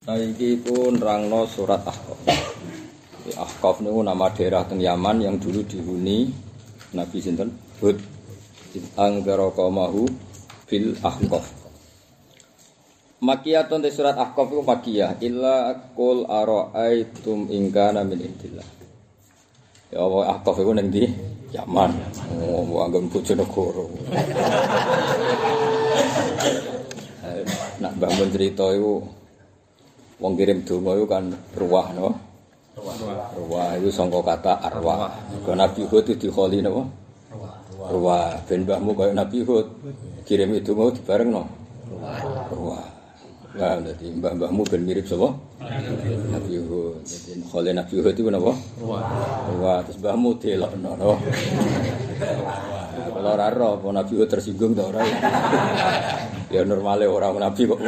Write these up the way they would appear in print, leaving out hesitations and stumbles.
Saiki pun nerangno surat Ahqaf. Ahqaf niku nama daerah teng Yaman yang dulu dihuni Nabi sinten? Hud. Anggara qaumahu fil Ahqaf. Makiyatun te surat Ahqaf iku makiyah illa qul ara'aitum in kana min indillah. Ya Allah Ahqaf iku ning ndi? Yaman. Oh, anggon Bojonegoro. Nak bangun cerita iku wong kirim donga iku kan ruwah no. Ruwah iku sangka kata arwah. Kok Nabi Hud itu dikholi napa? Ruwah. Ben mbahmu kaya Nabi Hud kirim donga dibarengno. Ruwah. Lah dadi mbah-mbahmu ben mirip sapa? Nabi Hud. Dadi kholi Nabi Hud iku napa? Ruwah. Terus mbahmu delokno no. Kalau ora ro Nabi Hud tersinggung ta ora? Ya normale orang Nabi kok.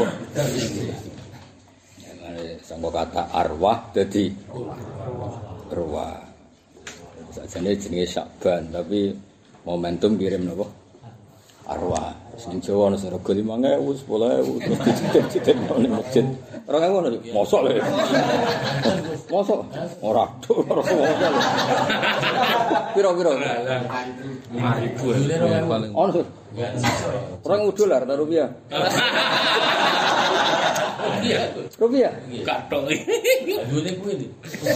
Sangka kata arwah dadi ruwah. Sajane jenenge Syakban tapi momentum kirim napa? Arwah. Sing Jawa ana sing rego 5.000, 10.000 terus dicicip nang masjid. 2.000 ngono iki. Mosok lho. Mosok ora tok ora mosok. Piro-piro? 5.000 paling. Ono. $2.000 ta rupiah? Rupiah? Kathok iki. Dune kuwi iki.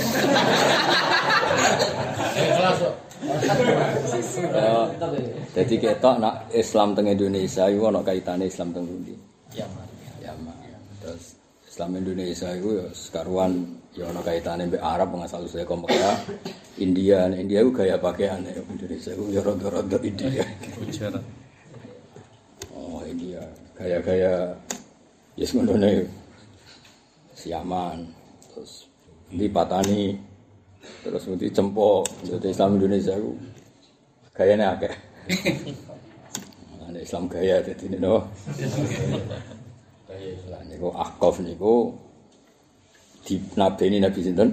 Jadi ketok nak Islam teng Indonesia iku ana kaitane Islam teng pundi? Yaman. Terus Islam Indonesia iku ya sekaruan ya ana kaitane mbek Arab asal usule Mekah, India. India iku gaya pakaiane Indonesia iku ya rada-rada India. Oh, India. Gaya-gaya yes ngene Yaman. Terus di Patani terus mesti cempok jadi Islam Indonesia ku gayane akeh. Ana Islam gaya dadi no. Gaya Islam niku Ahqaf niku dinabeni Nabi sinten?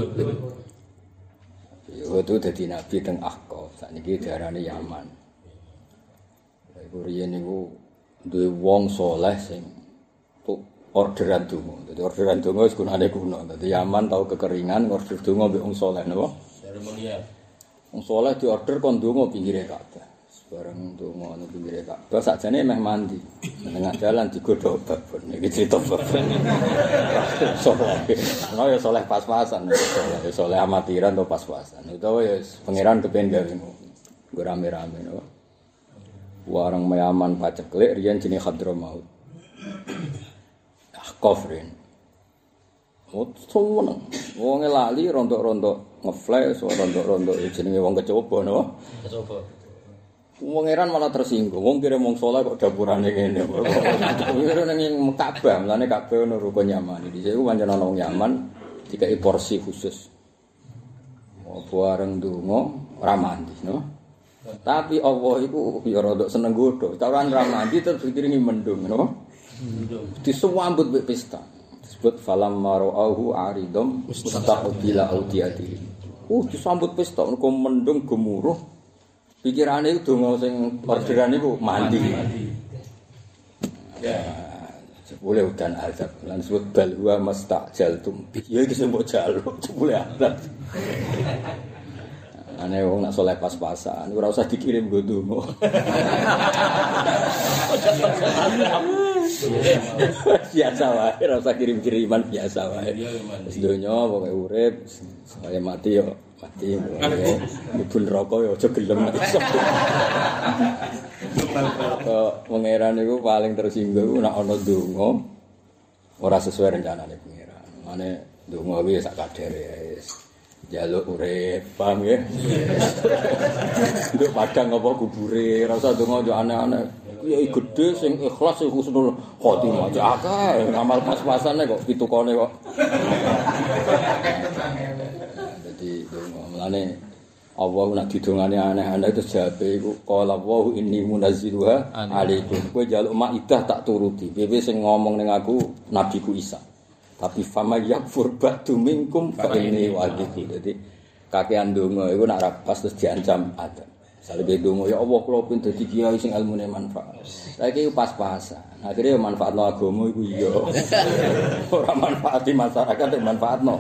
Itu dadi nabi teng Ahqaf. Sakniki diarani Yaman. Iku riyen niku duwe wong saleh sing orderan donga. Dadi orderan donga wis gunane kuno. Dadi Yaman tau kekeringan order donga mbek wong saleh napa? Seremonial. Wong saleh diorder kon donga pinggire Ka'bah. Bareng donga nang pinggire Ka'bah sakjane meh mandi. Tengah dalan digodhog babon. Iki cerita babon. Saleh. Ono ya saleh pas-pasan. Ya saleh amatiran to pas-pasan. Utawa ya pangeran kepen gawe ngono. Nggo rame-rame napa? Warang Yaman paceklik riyen jenenge Hadramaut. Kofrin. Oh, seneng. Wong lali rontok-rontok ngeflash, rontok-rontok jenenge wong kecoba napa? Kecoba. Wong eran malah tersinggung. Wong kirim wong saleh kok dapurane ngene. Kira ning Ka'bah, mlane Ka'bah ono rukun Yaman. Dise iku pancen ana wong Yaman dikai porsi khusus. Oh, bareng donga ora mandi, no? Tapi Allah iku ya rada seneng godho. Cawan ra mandi terus dikiringi mendung, no? Disambut mek pesta. Disebut falam marauhu aridum mustaqbila audiyati. Disambut pesta mergo mendung gemuruh. Pikirane iku donga sing orderan iku mandi. Ya, boleh udan azab. Lan disebut bal huwa mastajaltum. Ya iki sing mbok jaluk, boleh azab. Ane wong nak saleh pas-pasan, ora usah dikirim nggo donga. Biasa wae, ora usah kirim-kiriman biasa wae. Wis donya pokoke urip, saya mati yo mati. Ibu neraka yo aja gelem nek iso. Kok pangeran niku paling tersinggung nek ana donga ora sesuai rencanane pangeran. Mane donga kuwi sak kadare wis. Jaluk urip, paham ya? Nduk padang apa kubure, ora usah donga yo aneh-aneh. Kiai gedhe sing ikhlas sing husnul khotimah aja akeh ngamal pas-pasane kok pitukane kok. Dadi donga mlane Allah nek didongane aneh-aneh terus jawabe iku qala wa inni munazziluha alaikum. Kowe njaluk Maidah tak turuti. Piye sing ngomong ning aku nabiku Isa. Tapi fama yakfur ba'du minkum fa inni wa'idhu. Dadi kakean donga iku nek ra pas terus diancam ada. Saleh donga ya Allah kula pin dadi kiai sing ilmune manfaat. Saiki pas-pasan. Akhire manfaatno agama iku iya. Ora manfaati masyarakat manfaatno.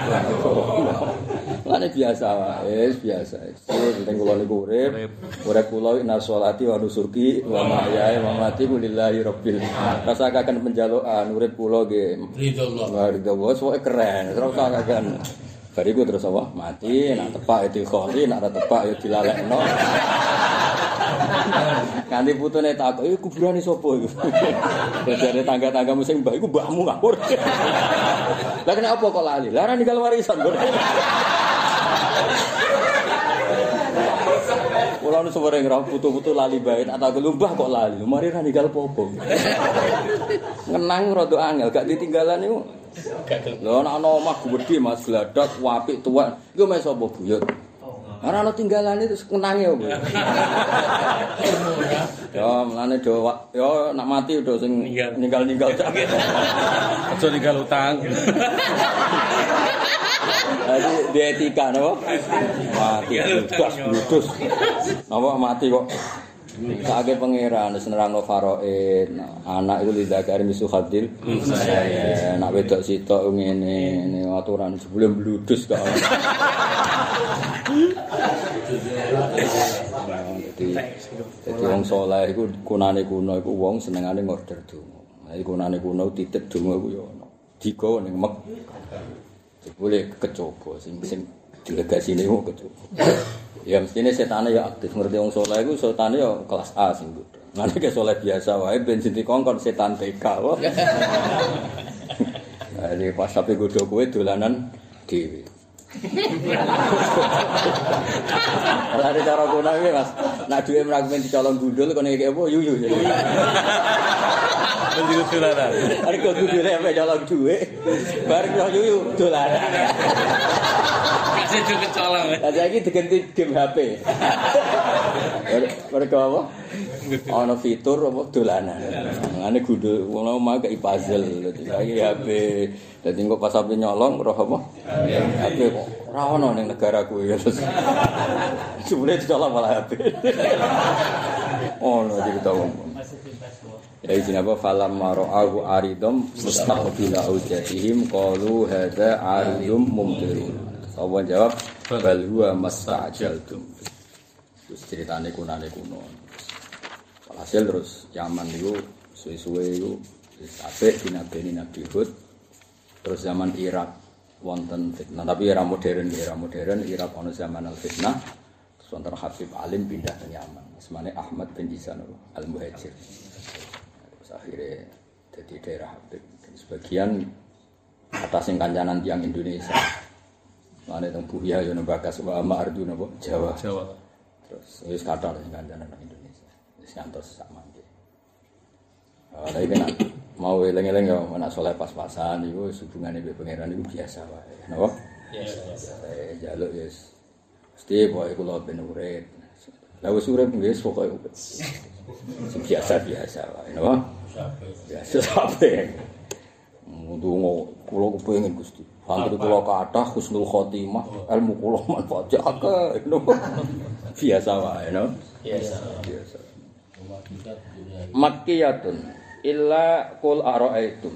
Lane biasa wae, biasa. Penting kula niku urip kula inna sholati wa nusuki wa mahyaaya wa mamati lillahi rabbil alamin. Rasakaken penjalukan urip kula nggih ridho Allah. Soale keren, terus rasakaken. Bariku terus apa? Mati, nak tepak itu kholi, nak tepak itu dilalekno. Kanthi putune takok, "Iki kuburane sapa iku?" Jare tangga-tanggamu sing mbah iku mbahmu ngawur. Lah kenapa kok lali? Lah ora ninggal warisan. Kula nu sewering ra putu-putu lali bae, tak takok lumbah kok lali. Mari ra ninggal popo. Ngenang rada angel, gak ditinggalan iku. Lho ana omah gedhe Mas gladak apik tuwek. Iku mes sapa buyut? Ora ana tinggalane terus kenange opo. Ya mlane do ya nak mati do sing ninggal-ninggal. Aja ninggal utang. Jadi di etika napa? Mati bludas. Napa mati kok sakake pangeran wis nerangno faraid. Anak iku lidakari misu hadil. Nak wedok sitok ngene aturan sebelum bludus kok. Jadi wong saleh iku kunane kuno iku wong senengane ngorder donga. Lah iku kunane kuno titip donga iku ya ono. Digawa ning mek. Boleh kecoba sing delegasine iku kecoba. Ya mestine setane ya aktif ngerti wong saleh iku setane ya kelas A sing bodho. Ngene ke saleh biasa wae ben dikongkon setan TK wae. Jadi pas sampe godho kowe dolanan dhewe. Lah ada cara guna iki Mas. Nek duwe mragmen dicolong gundul kene iki apa yuyu. Menjadi dolanan. Arek gundule ape colong duwe. Bar yuyu dolanan. Kasih juga colong. Lah saiki diganti game HP. Mereka apa? Ana fitur apa dolanan. Ngene gundul ngono mah kei puzzle. Saiki HP. Dadi engko pas sampe nyolong roh apa? HP kok ora ono ning negaraku ya terus. Jebule dicolong malah HP. Ono cerita wong. Ya izin apa falam mara'ahu aridum mustaqbila ujatihim qalu hadza aridum mumtirun. Sawan jawab bal huwa mastajaltum. Terus ceritane kunane kuno. Hasil terus Yaman niku suwe-suwe iku wis apik dinabeni Nabi Hud. Terus zaman Irak wonten fitnah, tapi era modern Irak ana zaman al-fitnah. Terus wonten Habib Alim pindah ke Yaman. Semane Ahmad bin Isan al-Muhajir. Terus akhirnya jadi daerah Habib. Dan sebagian atas sing kancanan tiyang Indonesia. Mane teng Buya yo Bagas wa Ma'ardu napa Jawa. Terus wis kathah sing kancanan Indonesia. Wis ngantos sak mangke. Lah iki nek mau eling-eling ya anak saleh pas-pasan iku hubungane mbek pangeran iku biasa wae. Napa? Biasa. Jaluk ya mesti pokoke kula ben urip. Lah wis urip wis pokoke biasa wae. Napa? Biasa sampe. Ndonga kula kepengin Gusti. Santri kula kathah husnul khotimah, ilmu kula manfaat akeh. Napa? Biasa wae, no? Biasa. Makkiyatun illa qul ara'aitum.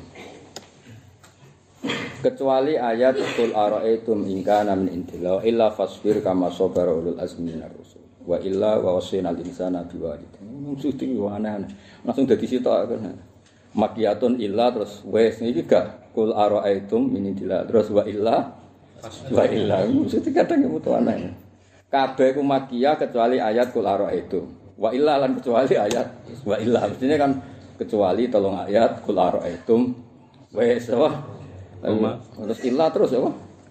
Kecuali ayat qul ara'aitum in kana min indillah illa fasbir kama sabara ulul azmi minar rusul wa illa wa wasinal insana biwalidayhi. Mesti aneh-aneh. Langsung dadi sitok kan. Makkiyatun illa terus wes iki gak qul ara'aitum min indillah terus wa illa mesti kadang mutu aneh. Kabeh ku makkiyah kecuali ayat qul ara'aitum. Wa illa lan kecuali ayat wa illa mestinya kan kecuali tolong ayat qul ara'aitum wes apa terus illa terus apa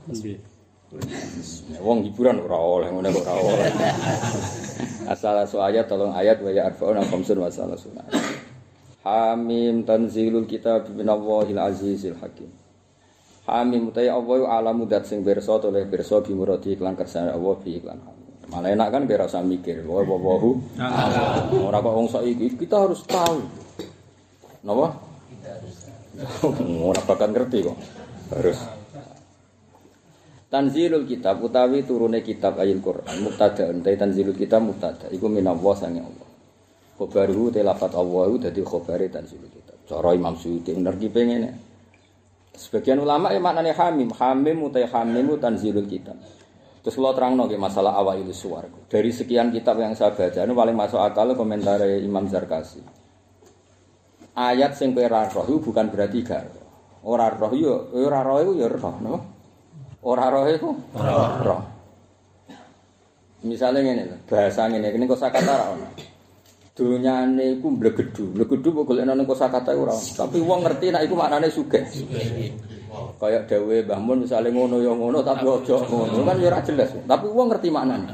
wong hiburan ora oleh ngene kok ora oleh asal ayat tolong ayat wa ya arfa'una khamsun wa salasuna Hamim tanzilul kitab minallahil azizil hakim. Hamim utai Allah alamu dat sing pirsa oleh pirsa bimurati iklan kersane Allah fi iklan. Malah enak kan kira usah mikir, wahu. Ora kok wong saiki kita harus tahu. Napa? Ora bakal ngerti kok. Harus. Tanzilul kitab utawi turune kitab ayil Quran mubtada utawi tanzilul kitab mubtada iku minallah sange Allah. Khobaruhu te lafat Allah iku dadi khobare tanzilul kitab. Cara Imam Suyuti nerkipe ngene. Sebagian ulama maknane hamim utawi hamim tanzilul kitab. Terus lo terangno ke masalah awailus suwar. Dari sekian kitab yang saya baca ini paling masuk akal komentar Imam Zarkasi. Ayat sing kowe ra roh bukan berarti gak ora roh yo ora roh iku ya roh no. Ora roh iku roh. Misale ngene bahasa ngene kosakata ra ono. Dunyane iku mblegedu kok golekno ning kosakata ora ono. Tapi wong ngerti nek iku maknane sugih. Kayak dawuhe Mbah Mun misale ngono ya ngono tapi aja ngono kan ya ora jelas. Tapi wong ngerti maknane.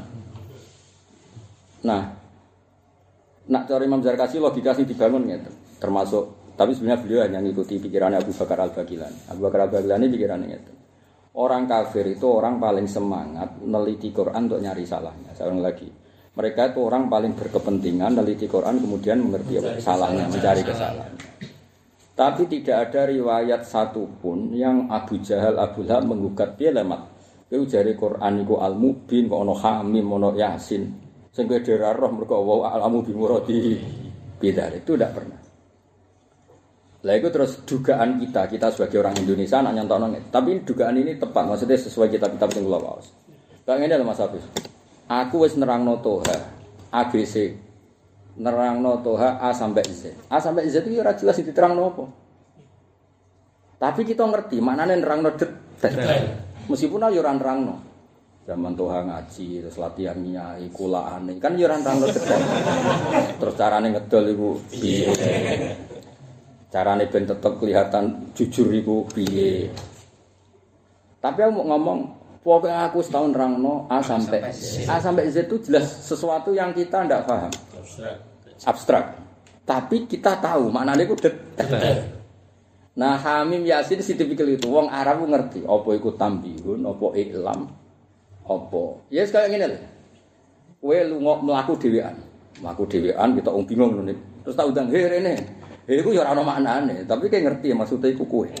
Nah, nak cara Imam Zarkasi logika sing dibangun ngeten. Termasuk tapi sebenarnya beliau hanya mengikuti pikirannya Abu Bakar Al-Bagilani. Abu Bakar Al-Bagilani pikirannya ngeten. Orang kafir itu orang paling semangat neliti Quran untuk nyari salahnya. Saya ulang lagi. Mereka itu orang paling berkepentingan neliti Quran kemudian mengerti salahnya, mencari kesalahan. Tapi tidak ada riwayat satupun yang Abu Jahal, Abu Lahab menggugat dia lemat. Itu jari Quran itu Al-Mubin, kok ono Hamim, ono Yasin. Sehingga dia roh mereka wow Al-Mubin muradi bidar itu tidak pernah. Lah itu terus dugaan kita sebagai orang Indonesia nak nyontokno. Tapi dugaan ini tepat, maksudnya sesuai kitab-kitab sing kula waos. Kayak ngene lho Mas Hafiz. Aku wis nerangno Toha ABC. Nerangno Toha A sampai Z. A sampai Z itu ora jelas diterangno apa. Tapi kita ngerti maknane nerangno detail. Meskipun yo ora nerangno. Zaman Toha ngaji terus latihan nyai kulaane kan yo ora nerangno detail. Terus carane ngedol iku piye? Carane ben tetep kelihatan jujur iku piye. Tapi aku mau ngomong pokoknya aku setahun nerangno A sampai Z. A sampai Z itu jelas sesuatu yang kita ndak paham. Abstrak. Tapi kita tahu maknanya itu detail. Nah, Hamim Yasin tipikal itu. Wong Arab ngerti apa iku tambihun, apa iklam, apa. Ya yes, kayak ngene lho. Kowe lunga mlaku dhewean. Mlaku dhewean kita bingung ngono. Terus tak undang, "He rene." He iku ya ora ono maknane, tapi kayak ngerti maksudnya iku kowe.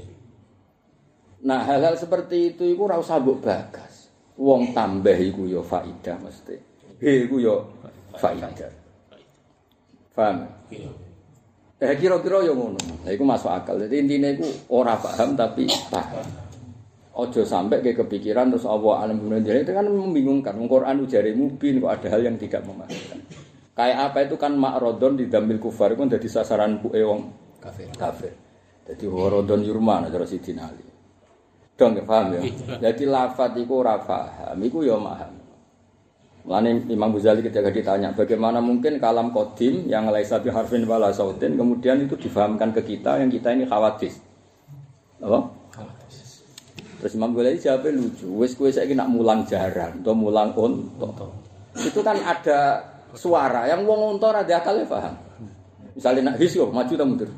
Nah, hal-hal seperti itu iku ora usah mbok bagas. Wong tambah iku ya faidah mesti. He iku ya faidah. Paham? Kira-kira ya ngono. Lah iku masuk akal. Jadi intine iku ora paham tapi paham. Ojo sampai ke kepikiran terus Allah alam dunia itu kan membingungkan. Quran ujare mubin kok ada hal yang tidak memahami. Kayak apa itu kan makrodon di damil kufar itu dadi sasaran buke wong kafir. Dadi warodon yurman cara Sidin Ali. Dong paham ya. Jadi lafaz iku ora paham, iku ya paham. Mulane Imam Ghazali ketika ditanya bagaimana mungkin kalam qadim yang laisa bi harfin wala sautin kemudian itu difahamkan ke kita yang kita ini khawatir. Apa? Terus Imam Ghazali jawabnya lucu. Wis kowe saiki nak mulang jaran atau mulang unta. Itu kan ada suara yang wong unta ora akale paham. Misalnya nak his yo maju ta mundur.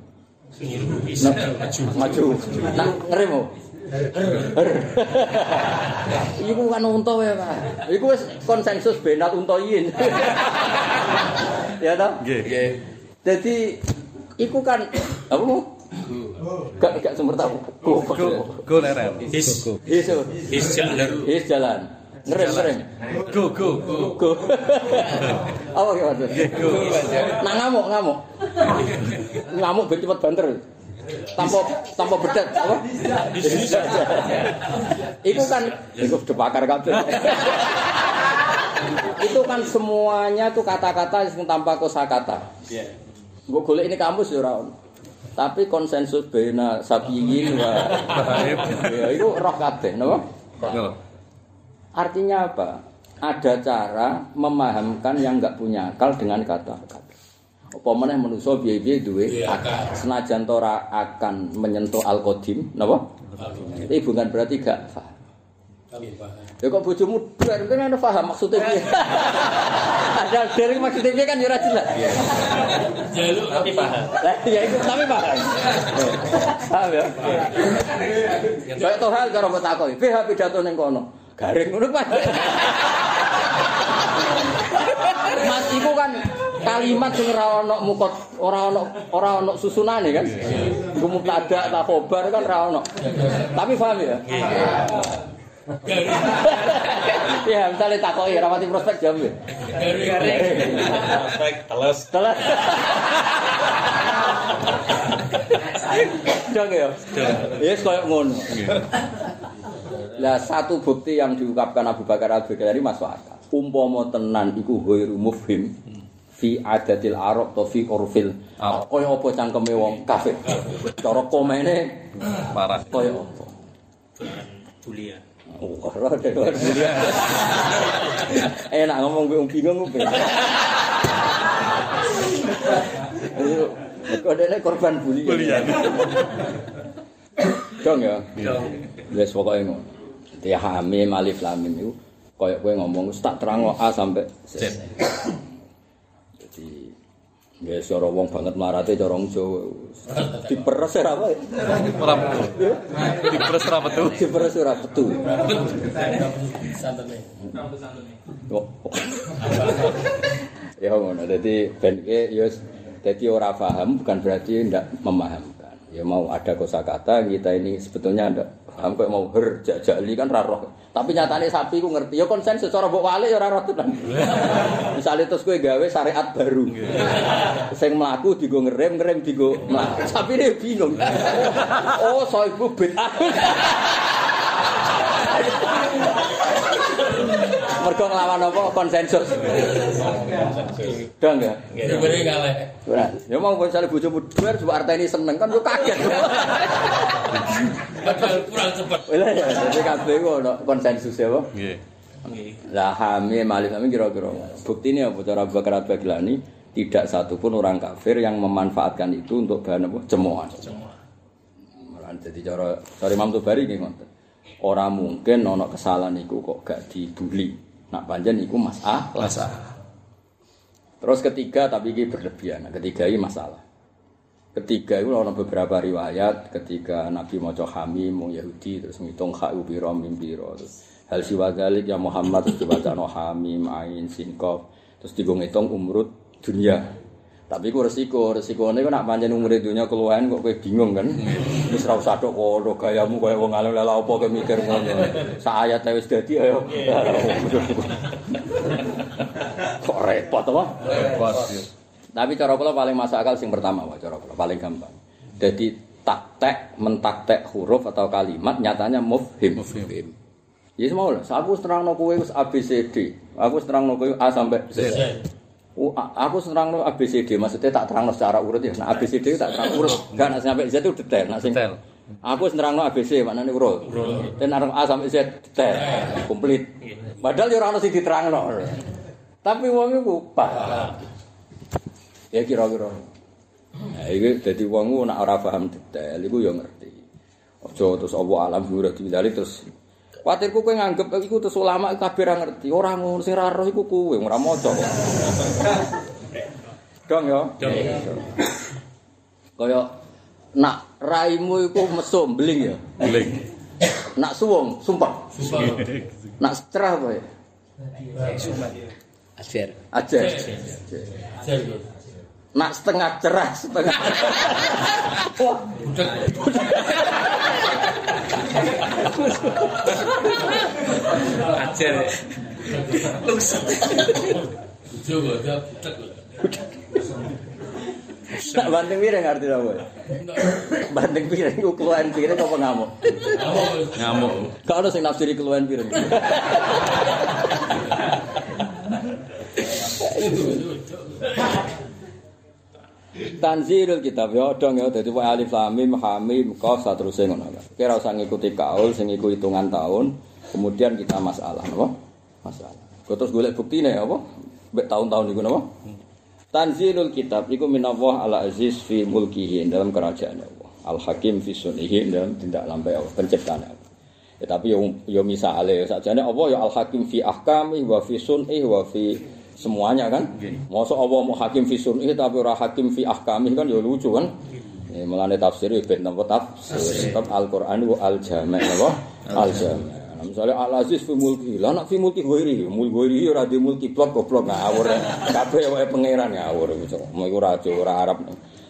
Maju. Nak ngerem. Iku kan unta wae, Pak. Iku wis konsensus benat untoyin. Ya toh? Nggih. Dadi iku kan apa mau? Gak sumber tahu. Go lerem. His jalan. Ngerem. Go. Apa ki maksud? Nah ngamuk. Ngamuk ben cepet banter. Tanpa bedat apa? Itu kan iku dibakar kabeh. Itu kan semuanya tuh kata-kata yang tanpa kosakata. Iya. Mbok golek ini kamus ya ora ono. Tapi konsensus bena sabiyin wa ya itu roh kabeh, napa? Artinya apa? Ada cara memahamkan yang enggak punya akal dengan kata-kata. Apa meneh manusa piye-piye duwe akal. Senajan ora akan menyentuh al-qadim, napa? Itu bukan berarti gak paham. Ya kok bojomu duwe kan ana paham maksudnya piye. Ada dari maksudnya piye kan ya ora jelas. Jaluk tapi paham. Lah ya itu tapi paham. Paham ya? Kayak to hal karo takoki, "Piye pidato ning kono?" Garing ngono Pak. Mas iku kan kalimat sing ora ana mukot, ora ana susunane kan. Iku mubtada ta khobar kan ora ana. Tapi paham ya? Ya, misalnya takoki rapati prospek jam. Garing. Prospek teles. Dong ya. Yes koyo ngono. Lah satu bukti yang diungkapkan Abu Bakar Al-Baghdadi masuk akal. Umpama tenan iku ghairu mufhim fi adatil Arab to fi urfil. Kaya apa cangkeme wong kafir. Cara komene Parah. kaya apa? Bulian. Oh, ora bulian. Enak ngomong gue bingung gue. Kok dene korban bulian. Dong ya. Wis pokoke ngono. Ya hamim alif lam mim iku koyo kowe ngomong tak terangno A sampai Z. Jadi nggih cara wong banget marate cara wong Jawa. Diperes ora apa? Ora betul. Diperes ora betul. Diperes ora betul. Santene. Ya ngono. Dadi ben iki ya dadi ora paham bukan berarti ndak memahamkan. Ya mau ada kosakata kita ini sebetulnya ndak paham kok mau jajali kan ra roh. Tapi nyatane sapi ku ngerti. Ya konsensus cara mbok walik ya ora roh tenan. Misale terus kowe gawe syariat baru. Sing mlaku digo ngerem digo mlaku. Sapine bingung. Oh, soibu bid'ah. Mergo nglawan apa konsensus. Dong ya. Sebenarnya kaleh. Ora. Ya mau misale bojomu duwer coba arteni seneng kan yo kaget. Padahal kurang cepet. Lha ya dadi kabeh ku ono konsensus ya, Pak. Nggih. Lah hamil malik kami kira-kira. Buktine apa cara Abu Bakar Al-Baghdadi tidak satupun orang kafir yang memanfaatkan itu untuk bahan apa? Cemoohan. Malah dadi cara Imam Tobari nggih ngoten. Ora mungkin ana kesalahan iku kok gak dibuli. Nak pancen iku masalah. Terus ketiga tapi iki berlebihan. Ketiga iki masalah. Ketiga itu ada beberapa riwayat ketika Nabi maca hamim wong Yahudi terus ngitung kha pira mim pira terus hal siwadzalik ya Muhammad terus dibacano hamim ain sin qaf terus digo-ngitung umrud dunia. Tapi ku resikone ku nak pancen umure dunia keluwen kok kowe bingung kan. Wis ra usah tok kono gayamu kaya wong alim lha apa kowe mikir ngono. Sak ayat wis dadi ayo. Kok repot apa? Repot. Tapi cara kula paling masuk akal sing pertama wae cara kula paling gampang. Jadi mentaktek huruf atau kalimat nyatanya mufhim. Ya semua lah. Aku terangno kowe wis ABCD. Aku terangno kowe A sampai Z. Aku terangno ABCD maksudnya tak terangno secara urut ya. Nah ABCD tak terang urut. Enggak nak sampai Z itu detail. Nak sing aku terangno ABC maknane urut. Dan arep A sampai Z detail. Komplit. Padahal ya ora ono sing diterangno. Tapi wong iku paham. Ya kira-kira. Nah, iki dadi wong nek ora paham detail iku ya ngerti. Aja terus Allah alam ora dimilali terus kuwatirku kowe nganggep iku terus ulama kabeh ora ngerti. Ora ngono sing ora roh iku kowe ora maca kok. Dong ya. Kaya nak raimu iku mesum beling ya. Beling. Nak suwung sumpah. Nak cerah kowe. Ajar. Nak setengah cerah, setengah. Wah, Ajar. Coba butek. Tak banting piring arti apa? Banting piring ku keluaran piring apa ngamuk? Ngamuk. Gak ada sing nafsiri keluaran piring. Tanzilul kitab ya dong ya dadi wae alif lam mim hamim qaf saterusé ngono. Kira usah ngikuti kaul sing iku hitungan tahun, kemudian kita masalah napa? Masalah. Terus golek buktine apa? Mbek tahun-tahun iku napa? Tanzilul kitab iku minallah ala aziz fi mulkihi dalam kerajaan Allah. Al hakim fi sunnihi dalam tindak lampai Allah penciptaan Allah. Ya tapi yo misale sakjane apa ya al hakim fi ahkami wa fi sunnihi wa fi semuanya kan. Mosok Allah mau hakim fi sunnihi tapi ora hakim fi ahkami kan ya lucu kan. Ya mulane tafsir ben napa tafsir Al-Qur'an wa al-jami' napa? Al-jami'. Misalnya Al-Aziz fi mulki, lah nak fi mulki goiri ora di mulki goblok ngawur. Kabeh wae pangeran ngawur iku. Mau iku raja ora Arab.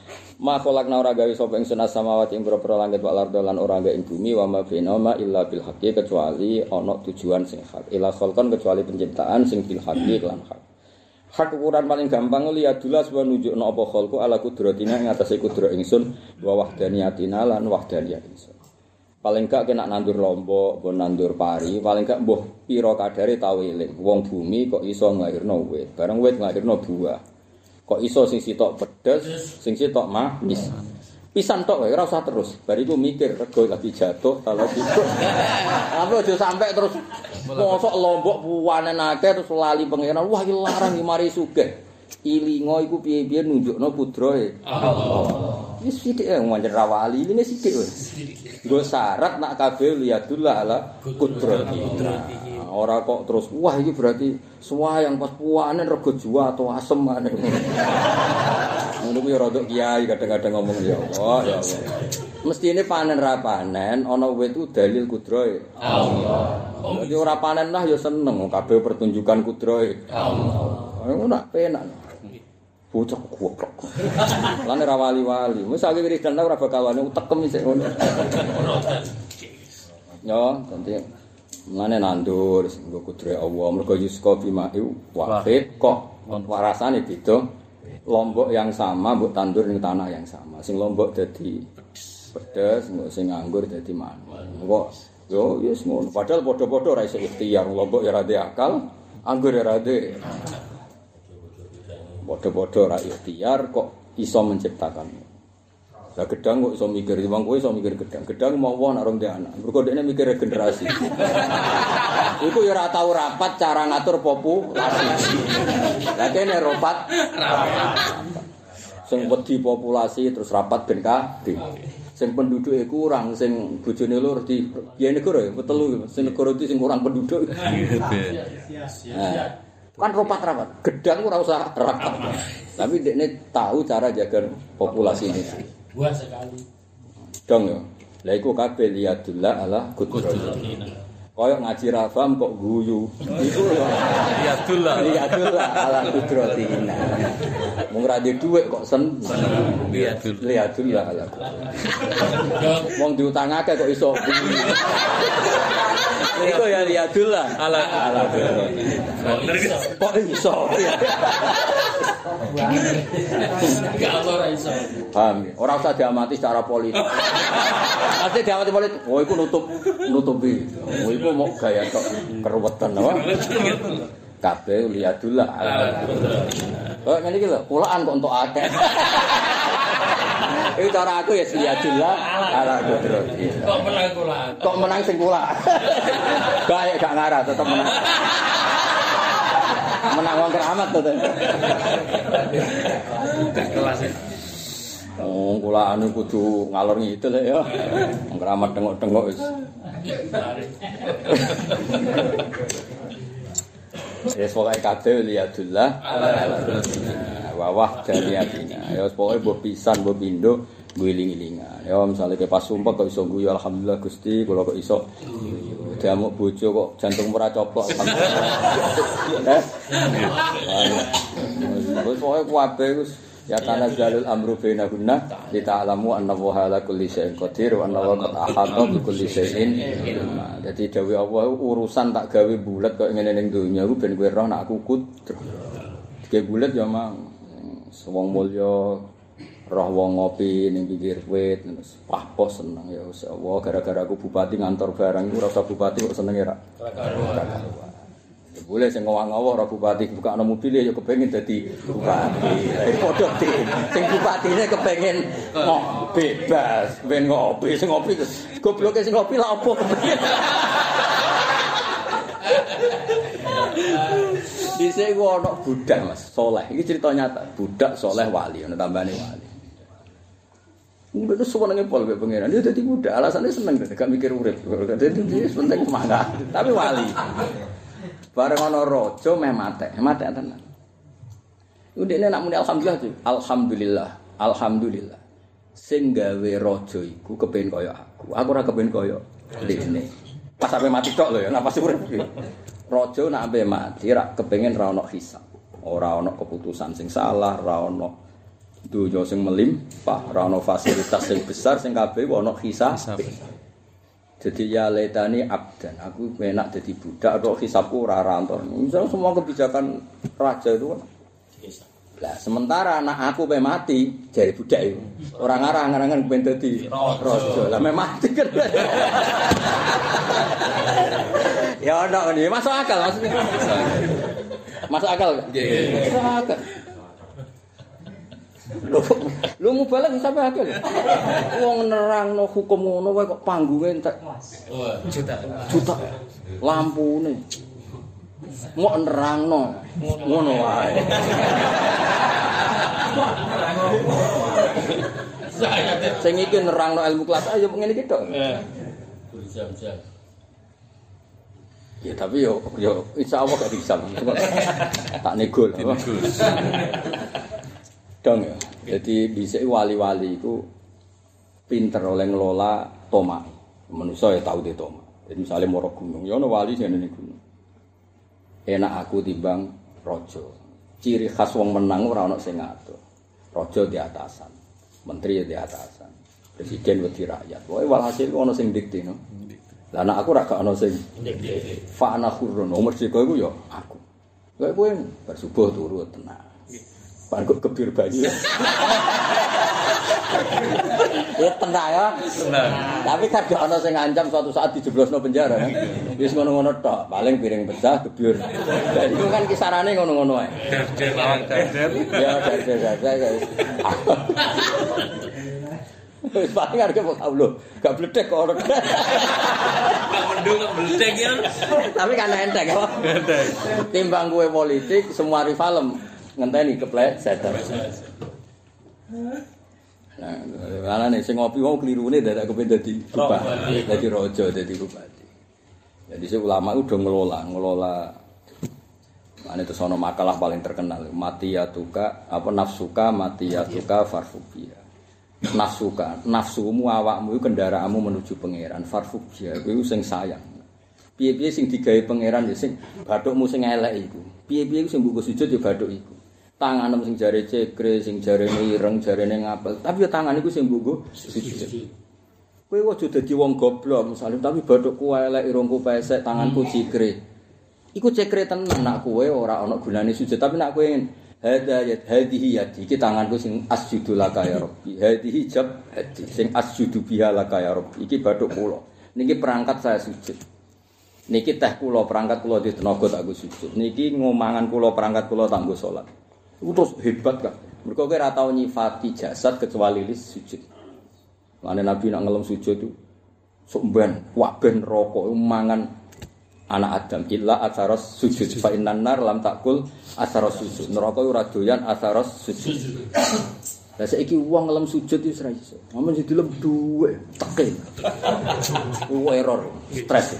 Ma khalaqna ora gawe sapa ingsun as-samawati ing pira-pira langit wal ardo lan ora gawe ing bumi wa ma bainahuma illa bil haqqi kecuali ana tujuan sing hak. Ila khalqan kecuali penciptaan sing bil haqqi lan hak. Hak ukuran paling gampang liadulah sebab nunjukno apa khalqu ala kudratina ing atase kudrat ingsun wa wahdaniyatina lan wahdaniyat ingsun. Paling gak kena nandur lombok, mbok nandur pari, paling gak mbuh pira kadare tau eling. Wong bumi kok iso nglairno wit, bareng wit nglairno buah. Kok iso sing sitok pedes, sing sitok manis. Pisan tok wae ora usah terus. Bariku mikir rego lagi jatuh, kalau gitu. Apa aja sampai terus mosok lombok puwanen akeh terus lali pangeran. Wah iki larang iki mari sugih. Ilingo iku piye-piye nunjukno pudrae. Allah. Wis sithik wae ra wali, ini sithik wae. Nggo syarat nak kabeh liyadullah ala kudrati. Ora kok terus wah iki berarti semua yang pas puanen rego jua atau asem maneh. Ngono kuwi rada kiai kadang-kadang ngomong ya Allah ya Allah. Mestine panen ra panen ana wit itu dalil kudrahe Allah. Jadi ora panen lah ya seneng kabeh pertunjukan kudrahe Allah. Ngono nak penak. Bocah goblok. Lan ora wali-wali. Wis saiki wiridan ora bakal wani utekem sik ngono. Yo, nanti mane nandur nggo kudre Allah mergo yuska bima'u wahid kok warasane beda. Lombok yang sama mbok tandur ning tanah yang sama. Sing lombok dadi pedes, sing nganggur dadi manis. Kok yo wis ngono. Padahal padha-padha ora iso ikhtiar. Lombok ya ora akal, anggur ya ora padha-padha ora ikhtiar kok iso menciptakan. Lah gedang kok iso mikir, wong kowe iso mikir gedang. Gedang mau wong nek ndek anak. Mergo dekne mikir regenerasi. Iku ya ora tau rapat cara ngatur populasi. Lah kene rapat. Sing wedi populasi terus rapat ben kabeh. Sing penduduke kurang, sing bojone loro di piye negara ya telu. Sing negara iki sing kurang penduduk. Kan rapat-rapat, gedang ora usah rapat. Tapi dekne tahu cara jaga populasi ini. Buat sekali. Dong ya. Lah iku kabeh liyadullah ala kudratina. Kayak ngaji rafam kok guyu. Iku liyadullah ala kudratina. Wong ra duwe dhuwit kok liyadullah ala kudratina. Wong diutangake kok iso guyu. Iku ya liyadullah ala kudratina. Kok iso? Gak ora iso. Paham ya? Ora usah diamati secara politik. Pasti diamati politik. Oh iku nutupi. Oh iku mau gaya tok keruwetan apa? Kabeh liyadullah. Oh ngene iki lho, kulaan kok entuk akeh. Iki cara aku ya liyadullah ala kudrati. Kok menang kulaan? Kok menang sing kula. Gawe gak ngarah tetep menang. Menang wong keramat to. Kelas. Oh, kula anu kudu ngalor ngidul ya. Wong keramat tengok-tengok wis. Wis pokoke kabeh liyadullah wa wahdaniyatina. Ya wis pokoke mbok pisan mbok pindho ngiling-ilingan. Ya misale ke pas sumpah kok iso guyu alhamdulillah Gusti, kula kok iso diamuk bojo kok jantung ora coplok. Wis pokoke kabeh wis ya kana jalul amru bainahunna lita'lamu anna wa ala kulli syai'in qadir wa anna wa qad ahata bi kulli syai'in ilma. Dadi dawuh Allah urusan tak gawe bulet kok ngene ning donya iku ben kowe roh nek aku kudu. Dike bulet ya mang wong mulya roh wong ngopi ning pinggir wit terus pos seneng ya wis Allah gara-gara aku bupati ngantor barang iku ora usah bupati kok senenge ra. Boleh sing ngowang-ngowong ora bupati buka ana mobil ya kepengin dadi bupati. Padha sing bupatine kepengin bebas, ben ngopi sing ngopi gobloke sing ngopi lha opo kepengin. Dhisik ku ana budak Mas, saleh. Iki cerita nyata, budak saleh wali, ana tambane wali. Udah tuh senenge pol be pangeran. Dia dadi budak, alasane seneng gak mikir urip. Dadi penting semangat, tapi wali. Bareng ana raja meh matek tenan. Udene nak muni alhamdulillah tuh. Alhamdulillah. Sing gawe raja iku kepengin kaya aku. Aku ora kepengin kaya dene. Pas sampe mati tok lho ya, napa sih urip iki. Raja nak ampe mati ra kepengin ra ono hisab. Ora ono keputusan sing salah, ra ono Dunya sing melimpah, ora ana fasilitas sing besar sing kabeh ana hisab. Jadi ya letani abdan, aku enak jadi budak atau hisabku ora rantor. Misal semua kebijakan raja itu kan. Lah sementara anak aku pe mati jadi budak itu. Ora ngarang-arangan ben dadi raja. Lah me mati kan. Ya ono ngene, masuk akal maksudnya. Masuk akal enggak? Nggih. Masuk akal. Lu mubalak sampe akal. Wong nerangno hukum ngono wae kok panggunge entek. Juta. Lampune. Mok nerangno ngono wae. Sing iki nerangno ilmu kelas ayo ngene iki tok. Jam-jam. Ya tapi yo insyaallah gak bisa. Tak nego lah. Dong ya. Jadi dhisik wali-wali iku pinter oleh ngelola tomak. Manusa ya tau de tomak. Jadi misalnya moro gunung, ya ono wali sing nang gunung. Enak aku timbang raja. Ciri khas wong menang ora ono sing ngatur. Raja di atasan, menteri di atasan, presiden wedi rakyat. Pokoke walhasil ono sing dikte no. Lah anak aku ra gak ono sing dikte. Fa ana khurun, nomor sego iku ya aku. Kayak kowe bar subuh turu tenang. Pan kok kebir banyu. Ya tenang ya. Tapi kan gak ono sing ngancam suatu saat dijeblosno penjara kan. Wis ngono-ngono tok, paling piring pecah kebir. Iku kan kisarane ngono-ngono ae. Ya der. Wis paling arep kok Allah, gak bledek kok ora. Gak mendung bledek ya. Tapi kan entek kok. Entek. Timbang kowe politik semua rivalem ngenteni kepleset. Nah, ana nek sing ngopi wong klirune dadak kepen dadi bupati, dadi raja, dadi bupati. Jadi ulama udah ngelola. Ane terus ana makalah paling terkenal, matiyatuka apa nafsuka matiyatuka farfubia. Nafsumu awakmu kendaraanmu menuju pangeran, farfubia kuwi sing sayang. Piye-piye sing digawe pangeran ya sing bathukmu sing elek iku. Piye-piye sing mbok sujud ya bathuk iku. Tanganem sing jare cekre, sing jarene ireng, jarene ngapel, tapi ya tangan iku sing mbok sujud. Kowe aja dadi wong goblok, misale tapi bathukku elek, irungku pesek, tanganku cekre. Iku cekre tenan nak kowe ora ana gunane sujud, tapi nak kowe hadayat hadihi yadi iki tanganku sing asjudu laka ya rabbi. Hadihi jab hadi sing asjudu biha laka ya rabbi. Iki bathuk kula. Niki perangkat saya sujud. Niki teh kula perangkat kula di tenaga tak sujud. Niki ngomangan kula perangkat kula tak nggo salat. Iku terus hebat kan. Mergo kowe ora tau nyifati jasad kecuali sujud. Mane Nabi nak ngelem sujud itu sok ben waben rokok mangan anak Adam illa atharos sujud fa innan nar lam takul atharos sujud. Neraka ora doyan atharos sujud. Lah saiki wong ngelem sujud wis ora iso. Amun sing dilem dhuwit teke. Error, stres.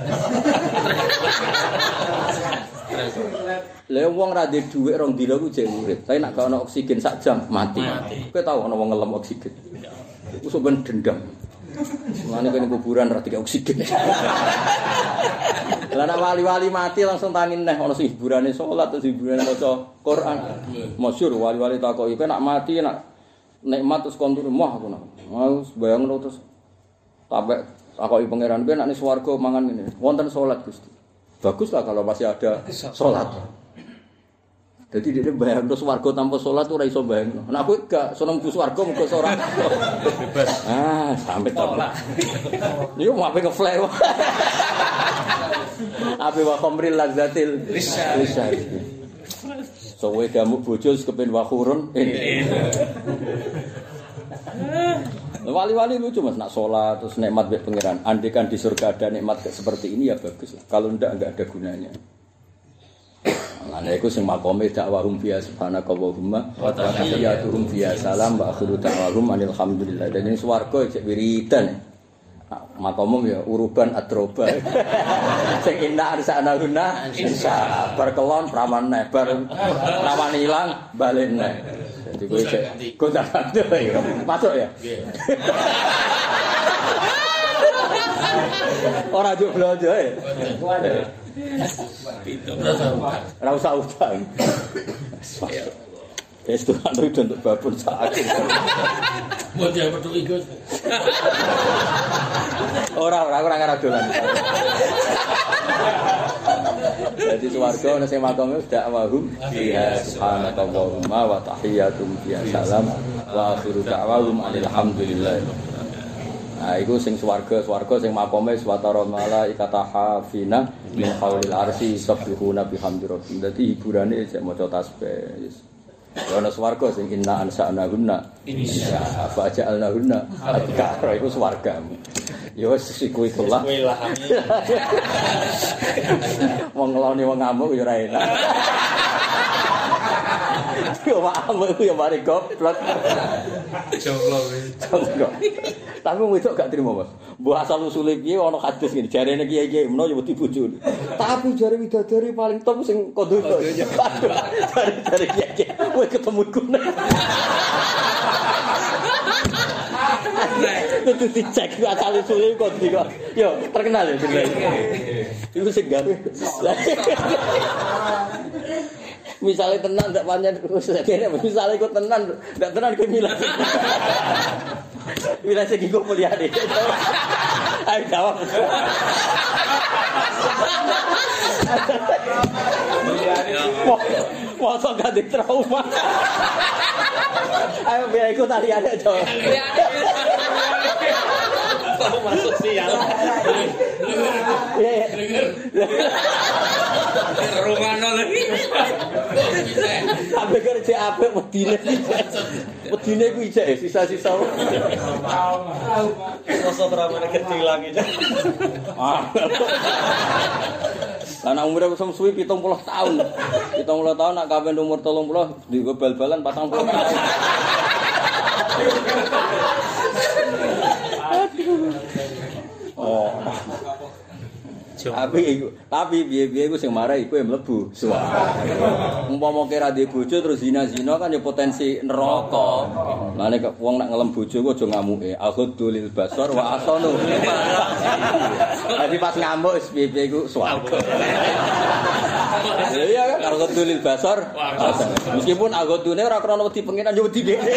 Lah wong ra ndek dhuwit rong dina ku jek urip. Tapi nek gak ana oksigen sak jam mati. Kowe tau ana wong ngelem oksigen. Iku ben dendam. Mulane kene kuburan ra dikek oksigen. Lah nek wali-wali mati langsung tani neh ana sing hiburane salat, terus hiburane maca Quran. Masyhur wali-wali takoki kowe nek mati nek nikmat terus kon turu mah aku nak. Mau bayangno terus sampai takoki pangeran kowe nek ning swarga mangan ngene. Wonten salat Gusti. Baguslah kalau masih ada salat. Jadi dia bayang terus warga tanpa sholat tuh raiso bayang. Nah aku gak seneng bus warga muka sholat. Bebas. Sampai sholat. Ini mau apa ngeflare? Apa wakomril lazzatil lisah. Sowe kamu bojol kepen wakurun. Wali-wali lucu mas nak sholat terus nikmat bek pangeran. Andaikan di surga ada nikmat seperti ini ya bagus. Kalau enggak ada gunanya. Nah, iku sing makome dakwahum fiya subhanaka Allahumma wa tahiyyatuhum fiya salam wa akhiru da'wahum alhamdulillah. Dan ini swarga cek wiridan. Nah, makomum ya uruban atroba. Sing inna arsana guna insya berkelon prawan neh bar prawan ilang balik neh. Jadi kowe cek kontak ya. Masuk ya. Ora jeblo aja. Ora usah utang. Itu kan untuk babon sakit. Mau dia betul ikut. Ora ngarah dolan. Jadi swarga ana sing makome dak wahum fiha subhanakallahumma wa tahiyyatum fiha salam wa akhiru da'wahum alhamdulillah. Nah, iku sing swarga sing makome swatara malaikata hafina min haulil arsy sabbihuna bihamdi rabbihim. Dadi hiburane sik maca tasbih. Ya ana swarga sing inna ansa'nahunna insya fa ja'alnahunna adkara iku swarga. Ya wis iku lah. Wong ngeloni wong ngamuk ya ora enak. Yo ngamuk ya mari goblok. Jomblo. Tapi wedok gak trimo, Mas. Mbah asal usule piye ana hadis ngene, jarene kiai-kiai menawa ya wedi bojone. Tapi jare widadari paling top sing kodonya. Jare kiai-kiai, kowe ketemu gune. Itu dicek asal usule kok iki. Yo, terkenal ya sebenarnya. Iku sing gawe. Misalnya tenan ndak pancen misalnya ikut tenan ndak tenan ke milah. Milah sing iku mulyane. Ayo jawab. Masa gak di trauma. Ayo biar ikut tarian aja. Kamu masuk sial. Rumano lagi. Sampai kerja apik wedine. Wedine ku ijek sisa-sisa. Sosok ramane kecil lagi. Lah umure wis suwi 70 tahun. 70 tahun nak kawin umur 30 digo bal-balan 40 tahun. Oh. Tapi piye-piye iku sing marah iku mlebu swarga. Umpama kira ndek bojo terus zina-zina kan ya potensi neraka. Lah nek wong nak ngelem bojo ku aja ngamuke. Aghadul basar wa asanu. Dadi pas ngamuk wis piye-piye iku swarga. Iya kan aghadul basar. Meskipun aghodune ora krana wedi pengiran yo wedi dhek.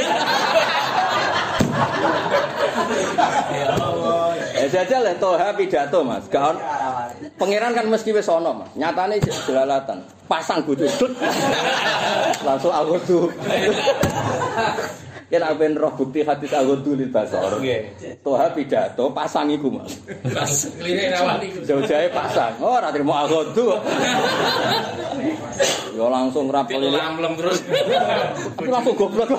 Jajal toha pidato Mas. Pangeran kan mesti wis ana Mas. Nyatane jelalatan. Pasang bojo langsung agodu. Yen aben roh bukti hadis agodu lil basar. Toha pidato pasang iku Mas. Pas klirik awal iku. Jauh-jauhe pasang. Oh ora trimo agodu. Yo langsung rapel ini. Terus. Aku langsung goblok.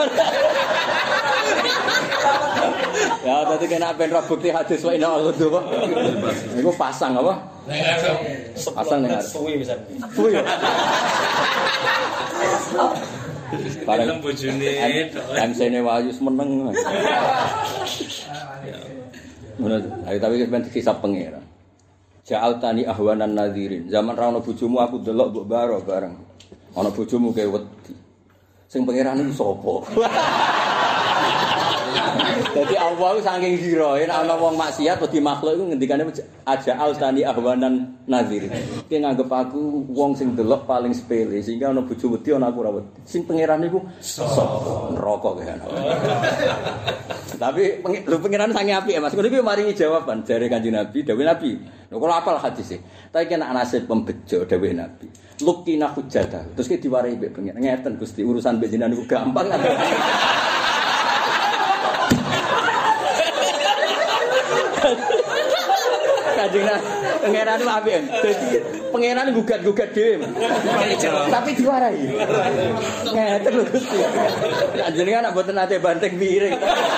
Ya tadi kena ben roh bukti hadis wa inna agodu kok. Niku pasang apa? Pasang ning arep. Suwi bisa. Suwi. Bareng bojone MC-ne Wahyu meneng. Ngono. Ayo tapi ben disisap pangeran. Ja'al tani ahwanan nadhirin. Zaman ra ono bojomu aku delok mbok baro bareng. Ana bojomu kae wedi. Sing pangeran iku sapa? Dadi Allah saking giroe nek ana wong maksiat wedi makhluk iku ngendikane aja'al tani ahwanan nadhirin. Ki nganggep aku wong sing delok paling sepele sehingga ana bojo wedi ana aku ora wedi. Sing pangeran iku sapa? Neraka kae ana. Tapi pangeran sange apik ya Mas. Ngono iki maringi jawaban jare Kanjeng Nabi, dawuh Nabi. Lho kok apal hadis e. Tapi kena nasib pembejo dawuh Nabi. Lukina hujjata. Terus ki diwarai mbek pangeran. Ngeten Gusti urusan mbek jenengan niku gampang. Kanjeng pangeran itu apik. Dadi pangeran gugat-gugat dhewe. Tapi diwarai. Ngeten lho Gusti. Kanjenengan nek mboten nate banteng piring.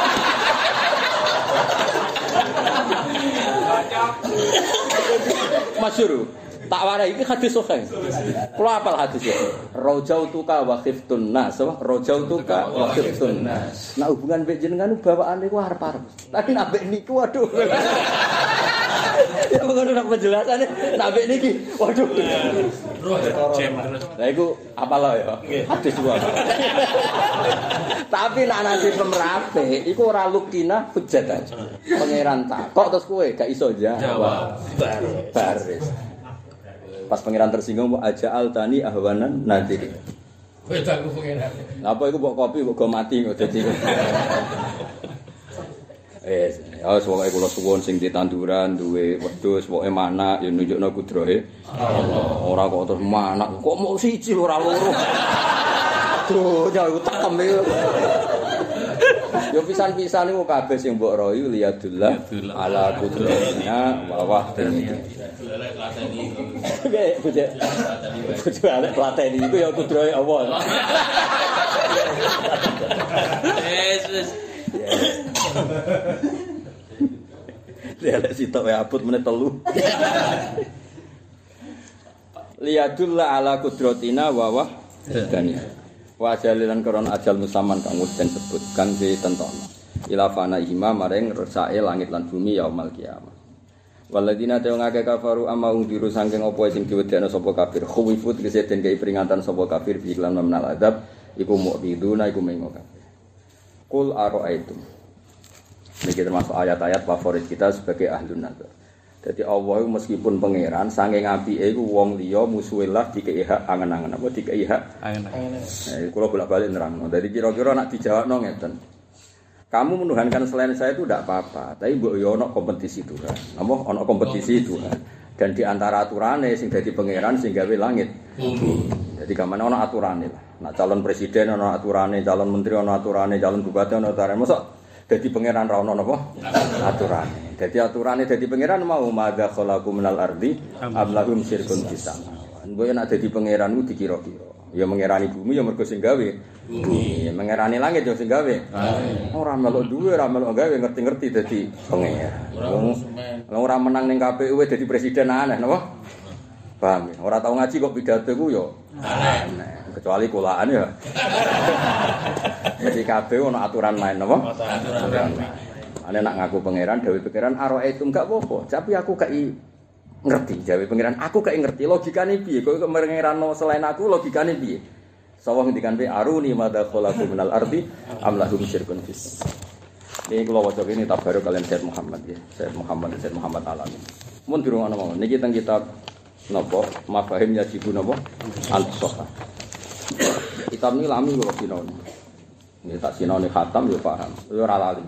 Masyhur. Tak warai iki hadis sahih. Kula apal hadis iki. Rajautuka wa khiftun nas, rajautuka wa khiftun nas. Nah hubungan mbek jenengan bawaane ku arep-arep. Tapi nek mbek niku waduh. Ya ngono nek penjelasane nek mbek niki waduh. Lah iku apal ya. Hadis ku. Tapi nek nasi pemrape iku ora lukina hujjatan. Pangeran takok terus kowe gak iso jawab. Baris. Pas pangeran tersinggung aja'al tani ahwanan nadhiri. Wedaku pengenan. Apa iku mbok kopi kok go mati kok dadi. Ya pokoke kula suwun sing ditanduran duwe wedhus pokoke manak ya nunjukno kudrahe Allah. Ora kok terus manak kok mau siji ora loro. Duh, ya tekem iki. Yo pisan-pisan niku kabeh sing mbok royu liyadullah ala qudratina wa wahdanihi. Oke, bojo arek plateni iku ya kudrahe Allah. Yesus. Lek sitok wae abot meneh 3. Liyadullah ala qudratina wa wahdanihi. Wa ajalilan korona ajal musaman kang wis den sebut kang ditentono ila fana ihma maring resake langit lan bumi yaumul kiamat waladina ta'u ngake kafaru amma undiru saking apa sing diwedhekno sapa kafir khuwifut kese den kei peringatan sapa kafir bi iklan menal adab iku mu'biduna iku mengo kafir qul ara'aitum iki termasuk ayat-ayat favorit kita sebagai ahlun nazar. Jadi Allah meskipun pangeran saking apike iku wong liya musuhe lah dikei hak angen-angen apa dikei hak angen-angen. Kula bolak-balik nerangno. Dadi kira-kira nek dijawabno ngeten. Kamu menuhankan selain saya itu tidak apa-apa, tapi mbok yo ana kompetisi Tuhan. Apa ana kompetisi Tuhan. Dan di antara aturane sing dadi pangeran sing gawe langit bumi. Jadi kamane ana aturane lah. Nek calon presiden ana aturane, calon menteri ana aturane, calon bupati ana aturane. Mosok dadi pangeran ra ono napa? Aturane. Dadi aturane dadi pangeran mau madza khalaqu minal ardi am lahum syirkun fis sama. Mbok yen dadi pangeran ku dikira-kira. Ya mengerani bumi ya mergo sing gawe bumi. Mengerani langit ya sing gawe. Ora melok duwe, ora melok gawe ngerti-ngerti dadi pangeran. Ora menang ning KPU dadi presiden aneh napa? Paham ya? Ora tau ngaji kok pidato ku ya aneh. Kecuali kulaan ya. Jadi KPU ana aturan main napa? Aturan main. Ane nak ngaku pangeran, dawuh pangeran aroe itu enggak apa-apa, tapi aku kei ngerti, dawuh pangeran aku kei ngerti logikane piye, kok pangeranno selain aku logikane piye. Sawang ngendikan pe aruni madza khalaqu minal ardi am lahum syirkun fis. Ini kula waca ini tabaruk kalian Sayyid Muhammad ya, Sayyid Muhammad Alamin. Mun dirungokno mawon niki teng kitab napa mafahim yajibu napa al-sahah. Kitab ini lami kula sinau. Ini tak sinau khatam yo paham, yo ora lali.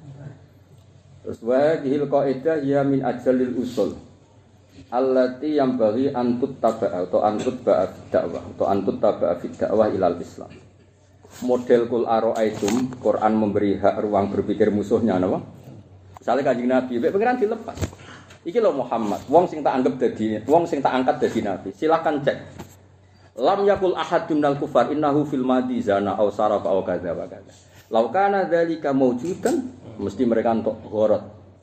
Terus wa dihil qaidah ya min ajalil usul allati yang bagi antut taba'a atau antut ba'a dakwah atau antut taba'a fi dakwah ilal Islam. Model kul ara'aitum Quran memberi hak ruang berpikir musuhnya napa? Misale Kanjeng Nabi, mek pengiran dilepas. Iki lho Muhammad, wong sing tak anggap dadi wong sing tak angkat dadi nabi. Silakan cek. Lam yakul ahadun minal kufar innahu fil madi zana aw sarafa aw kadza wa kadza. Lau kana dzalika maujudan mesti mereka entuk gharat.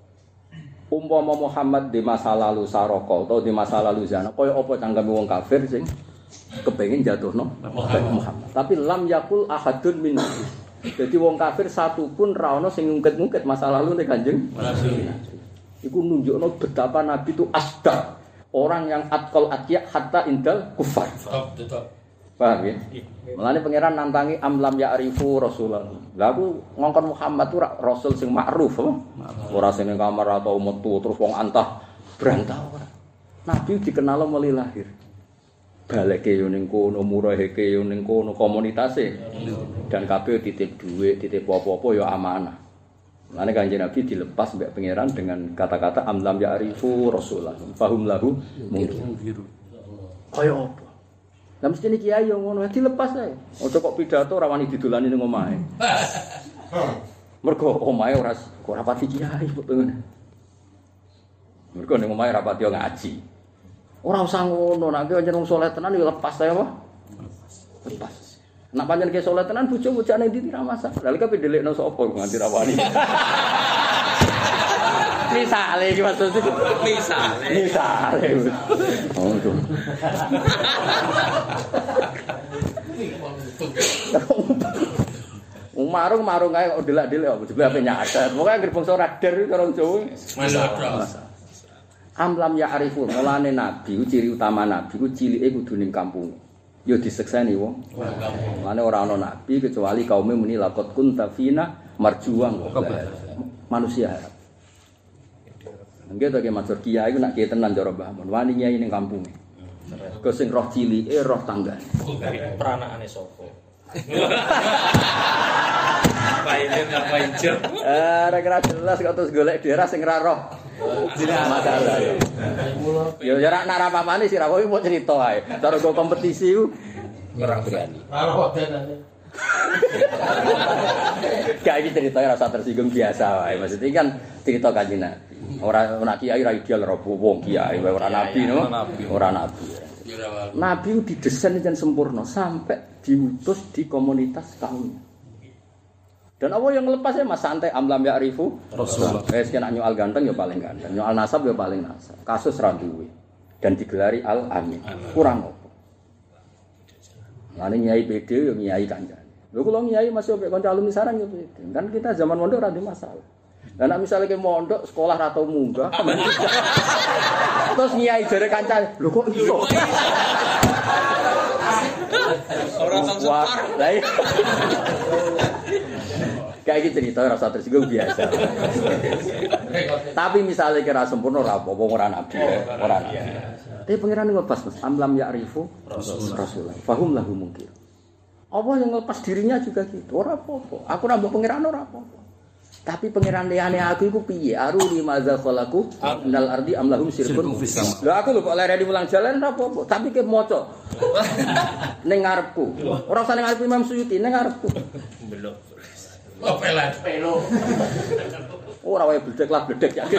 Umpama Muhammad di masa lalu saraka atau di masa lalu zina, kaya apa cangkeme wong kafir sing kepengin jatuhno Muhammad. Tapi lam yakul ahadun min. Jadi wong kafir satu pun ra ono sing ngungkit-ngungkit masa lalu nek Kanjeng Nabi. Iku nunjukno betapa Nabi itu asda, orang yang atqal atqiya hatta indal kufar. Paham ya? Mulane pangeran nantangi amlam ya'rifu Rasulullah. Lah aku ngongkon Muhammad tuh rasul sing ma'ruf apa? Ora sing ning kamar atau metu terus wong antah brantah ora. Nabi dikenal mulai lahir. Baleke yo ning kono, muraheke yo ning kono komunitase. Dan kabeh titip dhuwit, titip apa-apa yo amanah. Mulane Kanjeng Nabi dilepas mbek pangeran dengan kata-kata amlam ya'rifu Rasulullah. Fahum lahu mungkir. Kaya apa? Lah mesti niki kiai yo ngono dilepas ae. Aja kok pidato ora wani didolani ning omahe. Mergo omahe ora rapati kiai kok pengen. Mergo ning omahe rapati ngaji. Ora usah ngono, nek pancen wong saleh tenan yo lepas ae apa? Lepas. Nek pancen ki saleh tenan bojo-bojane ndi ra masak. Lah kok pendelekno sapa nganti ra wani. Misale iki maksudku misale. Oh itu. Marung kae kok delak-delek kok jebule ape nyadar. Pokoke anggere bangsa radar iki karo Jawa. Amlam ya arifun, mulane nabi ciri utama nabi ku cilike kudu ning kampung. Ya disekseni wong. Mulane ora ana nabi kecuali kaume muni laqad kunta fina marjuang manusia. Nggih to ki matur kiai iku nak kiai tenan cara Mbah Mun. Wani nyai ning kampunge. Mergo sing roh cilike roh tanggane. Peranakane sapa? Ngapain ngapain. Ora jelas kok terus golek daerah sing ra roh. Masalah. Yo ora nak apa-apane sira kowe mau cerita ae. Cara go kompetisi ku ora berani. Ora kok denane. Gak iki ceritanya rasa tersinggung biasa wae. Maksudnya kan cerita Kanjeng Nabi. Ora kiai ra ideal ora wong kiai ora nabi no. Ora nabi. Nabi didesain dan sempurna sampai diutus di komunitas kaumnya. Dan apa yang lepas ya Mas santai amlam ya'rifu Rasulullah. Kena nyoal ganteng ya paling ganteng, nyoal nasab ya paling nasab. Kasus ra duwe dan digelari al-amin. Kurang apa? Lane nyai PD yo nyai kancane. Lho kula nyai masih mbek kanca alumni sarang yo PD. Kan kita zaman mondok ora ada masalah. Lah nek misale ke mondok sekolah ra tau munggah. Terus nyai jare kancane, lho kok iso? Ora tau setor. Lah kayak gitu cerita rasa tersinggung biasa. Tapi misalnya kira sempurna ora apa-apa ora nabi, ora nabi. Tapi pangeran nglepas Mas, amlam ya'rifu Rasulullah. Fahum lahu mungkir. Apa yang nglepas dirinya juga gitu, ora apa-apa. Aku ora mbok pangeran ora apa-apa. Tapi pangeran liyane aku iku piye? Aruni madza khalaqu minal ardi am lahum syirkun fis sama. Lha aku lho kok lereni mulang jalan ora apa-apa, tapi ke maca. Ning ngarepku. Ora usah ning ngarep Imam Suyuti, ning ngarepku. Belok. Oh, pelo. Ora wae bledek lah bledek ya.